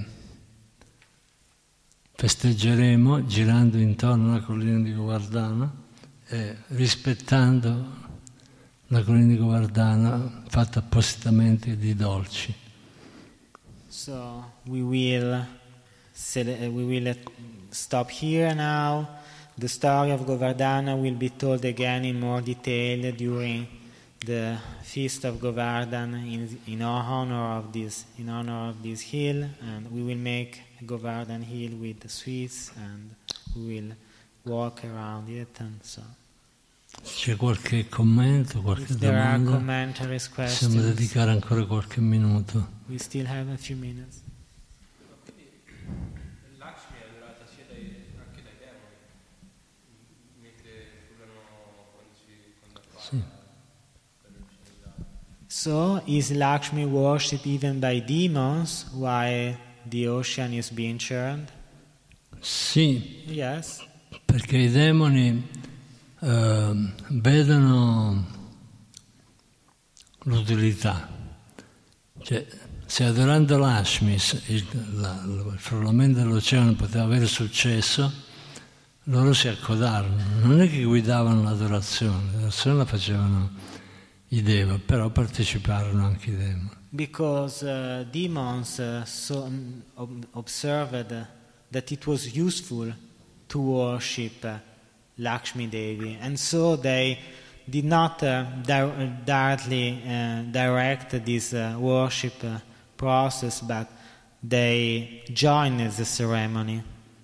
Speaker 1: festeggeremo girando intorno alla collina di Govardhana e rispettando la collina di Govardhana fatta appositamente di dolci.
Speaker 2: So we will stop here now. The story of Govardhana will be told again in more detail during the feast of Govardhan in honor of this hill, and we will make Govardhan hill with the sweets, and we will walk around it, and so.
Speaker 1: C'è qualche commento, qualche
Speaker 2: If there are
Speaker 1: domanda?
Speaker 2: commentaries,
Speaker 1: Possiamo
Speaker 2: questions,
Speaker 1: dedicare ancora qualche minuto.
Speaker 2: we still have a few minutes.
Speaker 4: Lakshmi è adorata sia anche dai demoni, mentre furono quando
Speaker 1: Sì.
Speaker 2: So is Lakshmi worshipped even by demons while the ocean is being churned?
Speaker 1: Sì,
Speaker 2: Yes.
Speaker 1: perché i demoni vedono l'utilità. Cioè, se adorando Lakshmi il frullamento dell'oceano poteva avere successo, loro si accodarono. Non è che guidavano l'adorazione la facevano i Deva, però parteciparono anche i demoni.
Speaker 2: Because demons observed that it was useful to worship Lakshmi Devi, and so they did not directly direct this worship process, but they joined the ceremony.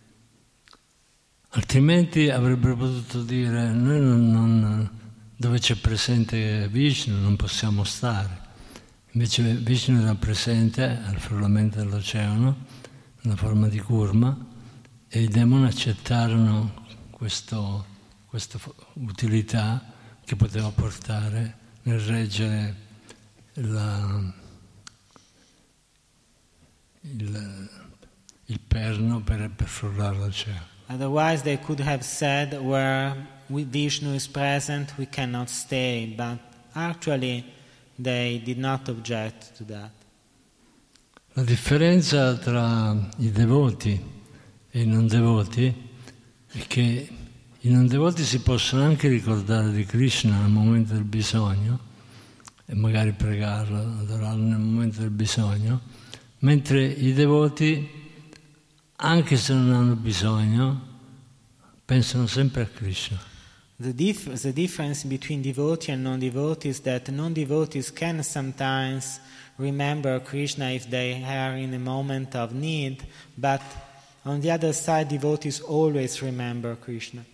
Speaker 1: Altrimenti avrebbero potuto dire noi dove c'è presente Vishnu non possiamo stare. Invece Vishnu era presente al frullamento dell'oceano nella forma di Kurma e i demoni accettarono questa utilità che poteva portare nel reggere il perno per frullare l'oceano.
Speaker 2: Otherwise they could have said, where Vishnu is present we cannot stay, but actually they did not object to that.
Speaker 1: La differenza tra i devoti e i non devoti è che i non devoti si possono anche ricordare di Krishna nel momento del bisogno e magari pregarlo, adorarlo nel momento del bisogno, mentre i devoti, anche se non hanno bisogno, pensano sempre a Krishna.
Speaker 2: The difference between devotee and non-devotee is that non-devotees can sometimes remember Krishna if they are in a moment of need, but on the other side devotees always remember Krishna.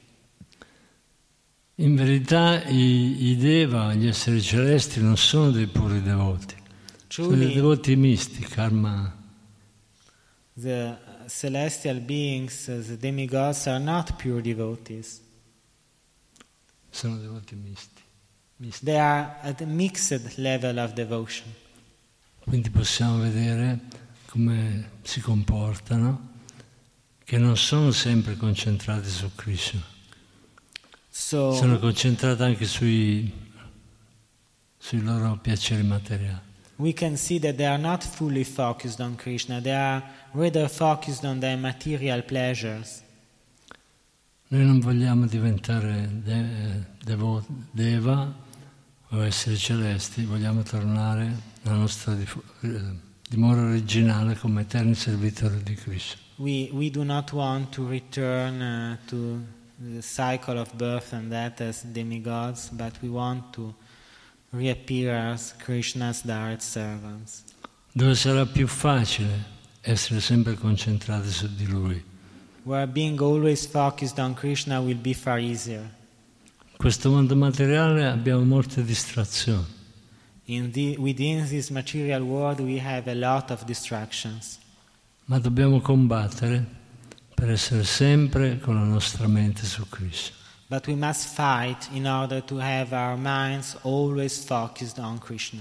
Speaker 1: In verità i Deva, gli esseri celesti, non sono dei puri devoti, sono dei devoti misti, karma.
Speaker 2: The celestial beings, the demigods, are not pure devotees.
Speaker 1: Sono devoti misti.
Speaker 2: They are at a mixed level of devotion.
Speaker 1: Quindi possiamo vedere come si comportano, che non sono sempre concentrati su Krishna. Sono concentrati anche sui loro piaceri materiali.
Speaker 2: We can see that they are not fully focused on Krishna, they are rather focused on their material pleasures.
Speaker 1: Noi non vogliamo diventare Deva o esseri celesti, vogliamo tornare alla nostra dimora originale come eterni servitori di Krishna.
Speaker 2: We do not want to return to the cycle of birth and death as demigods, but we want to reappear as Krishna's direct servants.
Speaker 1: Dove sarà più facile essere sempre concentrati su di Lui.
Speaker 2: Where being always focused on Krishna will be far easier.
Speaker 1: In questo mondo materiale abbiamo molte distrazioni.
Speaker 2: Within this material world we have a lot of distractions.
Speaker 1: Ma dobbiamo combattere per essere sempre con la nostra mente su Krishna.
Speaker 2: But we must fight in order to have our minds always focused on Krishna.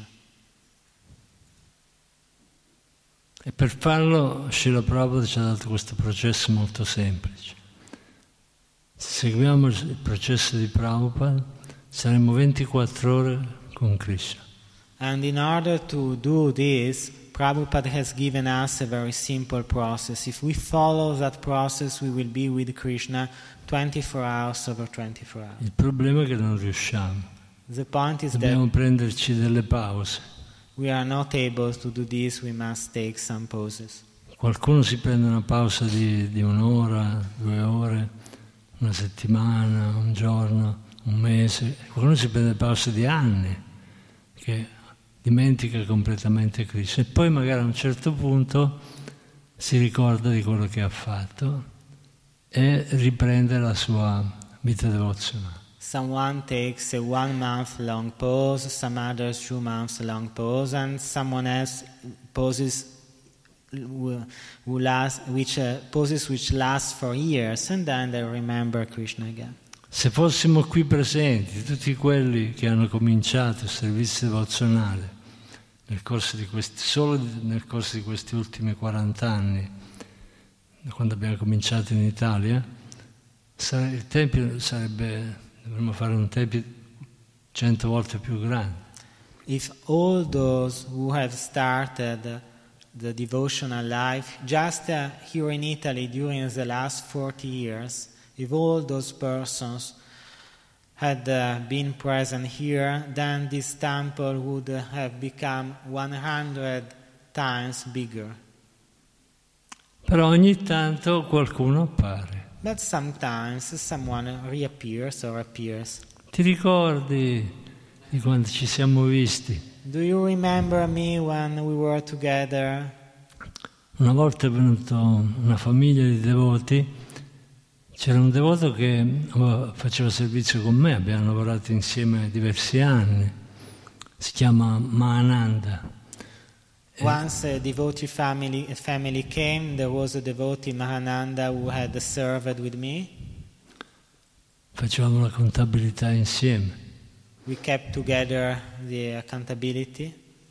Speaker 1: E per farlo Srila Prabhupada ci ha dato questo processo molto semplice. Se seguiamo il processo di Prabhupada saremo 24 ore con Krishna.
Speaker 2: And in order to do this, Prabhupada has given us a very simple process. If we follow that process, we will be with Krishna 24 hours over 24 hours.
Speaker 1: Il problema è che non riusciamo.
Speaker 2: The point is
Speaker 1: Dobbiamo
Speaker 2: that
Speaker 1: prenderci delle pause.
Speaker 2: we are not able to do this, we must take some poses.
Speaker 1: Qualcuno si prende una pausa di un'ora, 2 ore, una settimana, un giorno, un mese. Qualcuno si prende pause di anni, che dimentica completamente Krishna. E poi magari a un certo punto si ricorda di quello che ha fatto e riprende la sua vita devozionale.
Speaker 2: Someone takes a 1 month long pause, some others 2 months long pause, and someone else poses poses which last for years, and then they remember Krishna again.
Speaker 1: Se fossimo qui presenti, tutti quelli che hanno cominciato il servizio devozionale solo nel corso di questi ultimi 40 anni, quando abbiamo cominciato in Italia, il tempio dovremmo fare un tempio 100 volte più grande.
Speaker 2: If all those who have started the devotional life just here in Italy during the last 40 years, if all those persons had been present here, then this temple would have become 100 times bigger.
Speaker 1: Però ogni tanto qualcuno appare.
Speaker 2: But sometimes someone reappears or appears.
Speaker 1: Ti ricordi di quando ci siamo visti?
Speaker 2: Do you remember me when we were together?
Speaker 1: Una volta è venuta una famiglia di devoti, c'era un devoto che faceva servizio con me, abbiamo lavorato insieme diversi anni, si chiama Mahananda.
Speaker 2: Once a devotee family came, there was a devotee Mahananda who had served with me.
Speaker 1: Facevamo la contabilità insieme.
Speaker 2: We kept together the accountability.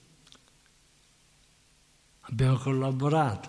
Speaker 1: Abbiamo collaborato.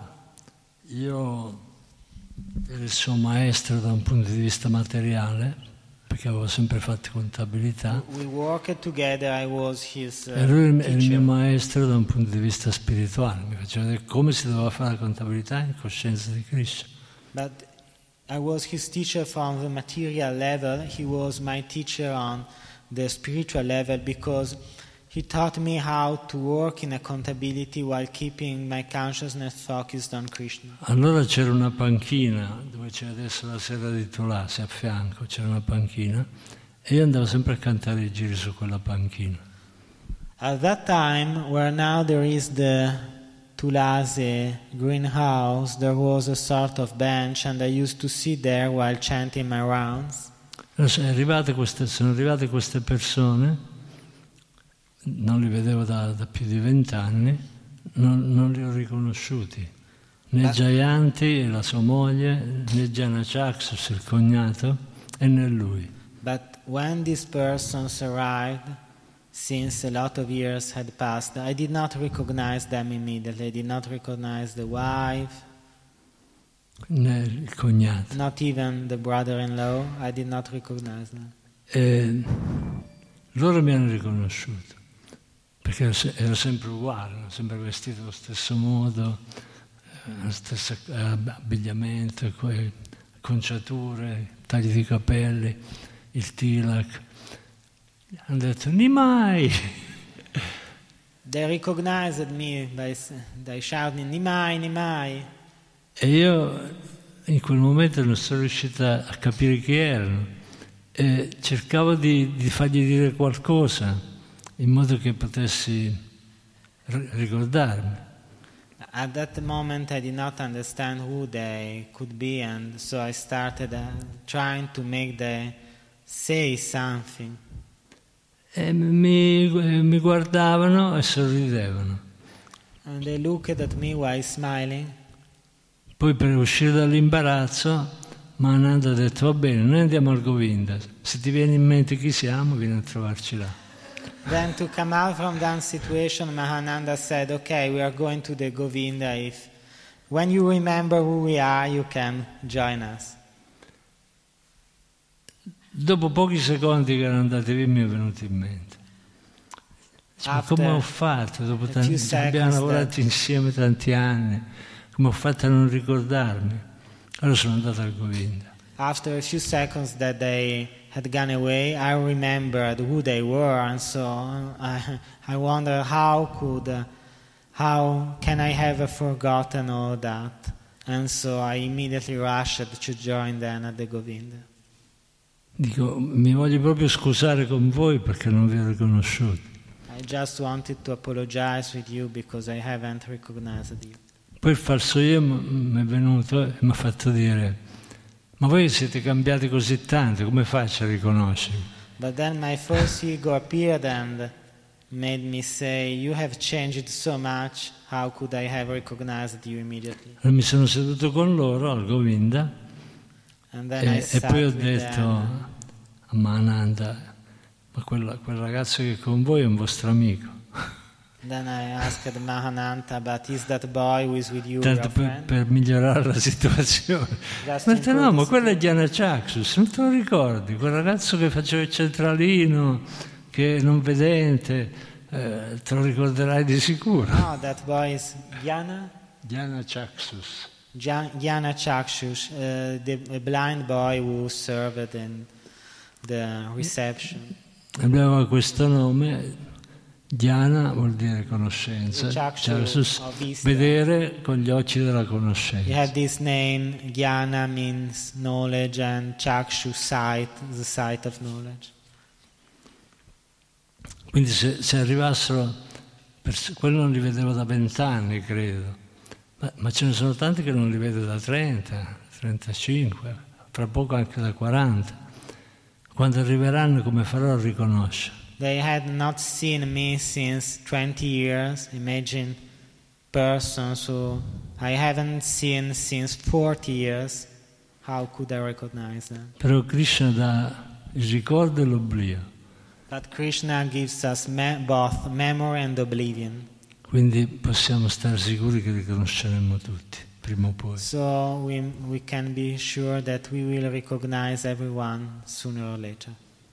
Speaker 1: Io ero il suo maestro da un punto di vista materiale, perché avevo sempre fatto contabilità.
Speaker 2: We worked together, I was his
Speaker 1: e lui è il
Speaker 2: teacher.
Speaker 1: mio maestro da un punto di vista spirituale. Mi faceva vedere come si doveva fare la contabilità in coscienza di Krishna.
Speaker 2: But I was his teacher from the material level. He was my teacher on the spiritual level because he taught me how to work in accountability while keeping my consciousness focused on Krishna.
Speaker 1: Allora c'era una panchina, dove c'è adesso la sera di Tulasi, a fianco c'era una panchina, e io andavo sempre a cantare i giri su quella panchina.
Speaker 2: At that time, where now there is the Tulasi greenhouse, there was a sort of bench, and I used to sit there while chanting my rounds.
Speaker 1: Sono arrivate queste persone, non li vedevo da più di 20 anni, non li ho riconosciuti, né Jayanti, la sua moglie, né Janachaksus, il cognato, e né lui.
Speaker 2: But when these persons arrived, since a lot of years had passed, I did not recognize them immediately. I did not recognize the wife,
Speaker 1: Né il cognato.
Speaker 2: not even the brother-in-law. I did not recognize them.
Speaker 1: E loro mi hanno riconosciuto, perché ero sempre uguale, ero sempre vestito allo stesso modo, lo stesso abbigliamento, conciature, tagli di capelli, il tilak. Hanno detto Nimai!
Speaker 2: They recognized me by shouting, Nimai, Nimai.
Speaker 1: E io in quel momento non sono riuscita a capire chi erano e cercavo di fargli dire qualcosa in modo che potessi ricordarmi.
Speaker 2: At that moment I did not understand who they could be, and so I started trying to make them say something.
Speaker 1: E mi guardavano e sorridevano.
Speaker 2: And they looked at me while smiling.
Speaker 1: Poi per uscire dall'imbarazzo Mahananda ha detto va bene, noi andiamo al Govinda, se ti viene in mente chi siamo vieni a trovarci là.
Speaker 2: Then to come out from that situation, Mahananda said, okay, we are going to the Govinda. When you remember who we are, you can join us.
Speaker 1: Dopo pochi secondi che erano andati via mi è venuto in mente. Ma come ho fatto? Dopo abbiamo lavorato insieme tanti anni, come ho fatto a non ricordarmi? Allora sono andato al Govinda.
Speaker 2: after a few seconds that they had gone away, I remembered who they were, and so I wonder how can I have forgotten all that? And so I immediately rushed to join them at the Govinda.
Speaker 1: Dico, mi voglio proprio scusare con voi perché non vi ho riconosciuti.
Speaker 2: I just wanted to apologize with you because I haven't recognized you.
Speaker 1: Poi il falso io mi è venuto e mi ha fatto dire: ma voi siete cambiati così tanto, come faccio a riconoscervi?
Speaker 2: But then my false ego appeared and made me say, you have changed so much, how could I have recognized you immediately?
Speaker 1: Allora mi sono seduto con loro al Govinda
Speaker 2: And then I
Speaker 1: e
Speaker 2: sat
Speaker 1: poi ho
Speaker 2: with
Speaker 1: detto
Speaker 2: them.
Speaker 1: a Mahananda: ma quel ragazzo che è con voi è un vostro amico.
Speaker 2: Then I asked Mahananta, but is that boy who is with you
Speaker 1: Tanto
Speaker 2: your friend?
Speaker 1: per migliorare la situazione.
Speaker 2: Just
Speaker 1: Ma
Speaker 2: to
Speaker 1: detto,
Speaker 2: improve
Speaker 1: no,
Speaker 2: the
Speaker 1: ma quello è
Speaker 2: situation.
Speaker 1: Dhyana Chakshu, non te lo ricordi? Quel ragazzo che faceva il centralino, che è non vedente, te lo ricorderai di sicuro.
Speaker 2: No, that boy is Jnana
Speaker 1: Dhyana Chaksus.
Speaker 2: Chakshus, a blind boy who served in the reception.
Speaker 1: Aveva questo nome. Dhyana vuol dire conoscenza, Chaksus, vedere con gli occhi della
Speaker 2: He
Speaker 1: conoscenza.
Speaker 2: had this name, Jnana means knowledge, and Chakshu, sight, the sight of knowledge.
Speaker 1: Quindi se arrivassero, quello non li vedevo da 20 anni, credo, ma ce ne sono tanti che non li vedo da 30, 35, fra poco anche da 40. Quando arriveranno, come farò a riconoscere?
Speaker 2: They had not seen me since 20 years. Imagine persons who I haven't seen since 40 years. How could I recognize them?
Speaker 1: Però Krishna dà il ricordo e l'oblio,
Speaker 2: But Krishna gives us both memory and oblivion.
Speaker 1: quindi possiamo stare sicuri che riconosceremo tutti, prima o poi.
Speaker 2: So we can be sure that we will recognize everyone sooner or later.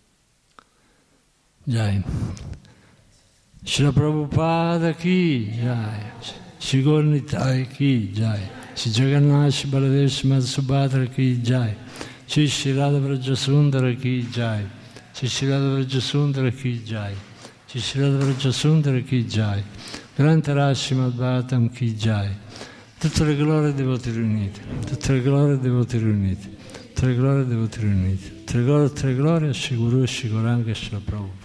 Speaker 1: Jai. Srila Prabhupada ki jai. Shri Gaur Nitai ki jai. Shri Jagannath Shri Baladev Shri Mata Subhadra ki jai. Shri Radha Vrajasundara ki jai. Shri Radha Vrajasundara ki jai. Shri Radha Vrajasundara ki jai. Grande Rashi Madhvatam ki jai. Tutte le glorie dei devoti riuniti. Tutte le glorie dei devoti riuniti. Tutte le glorie dei devoti riuniti. Tutte le glorie a Shri Guru e Shri Gauranga e Shri Prabhupada.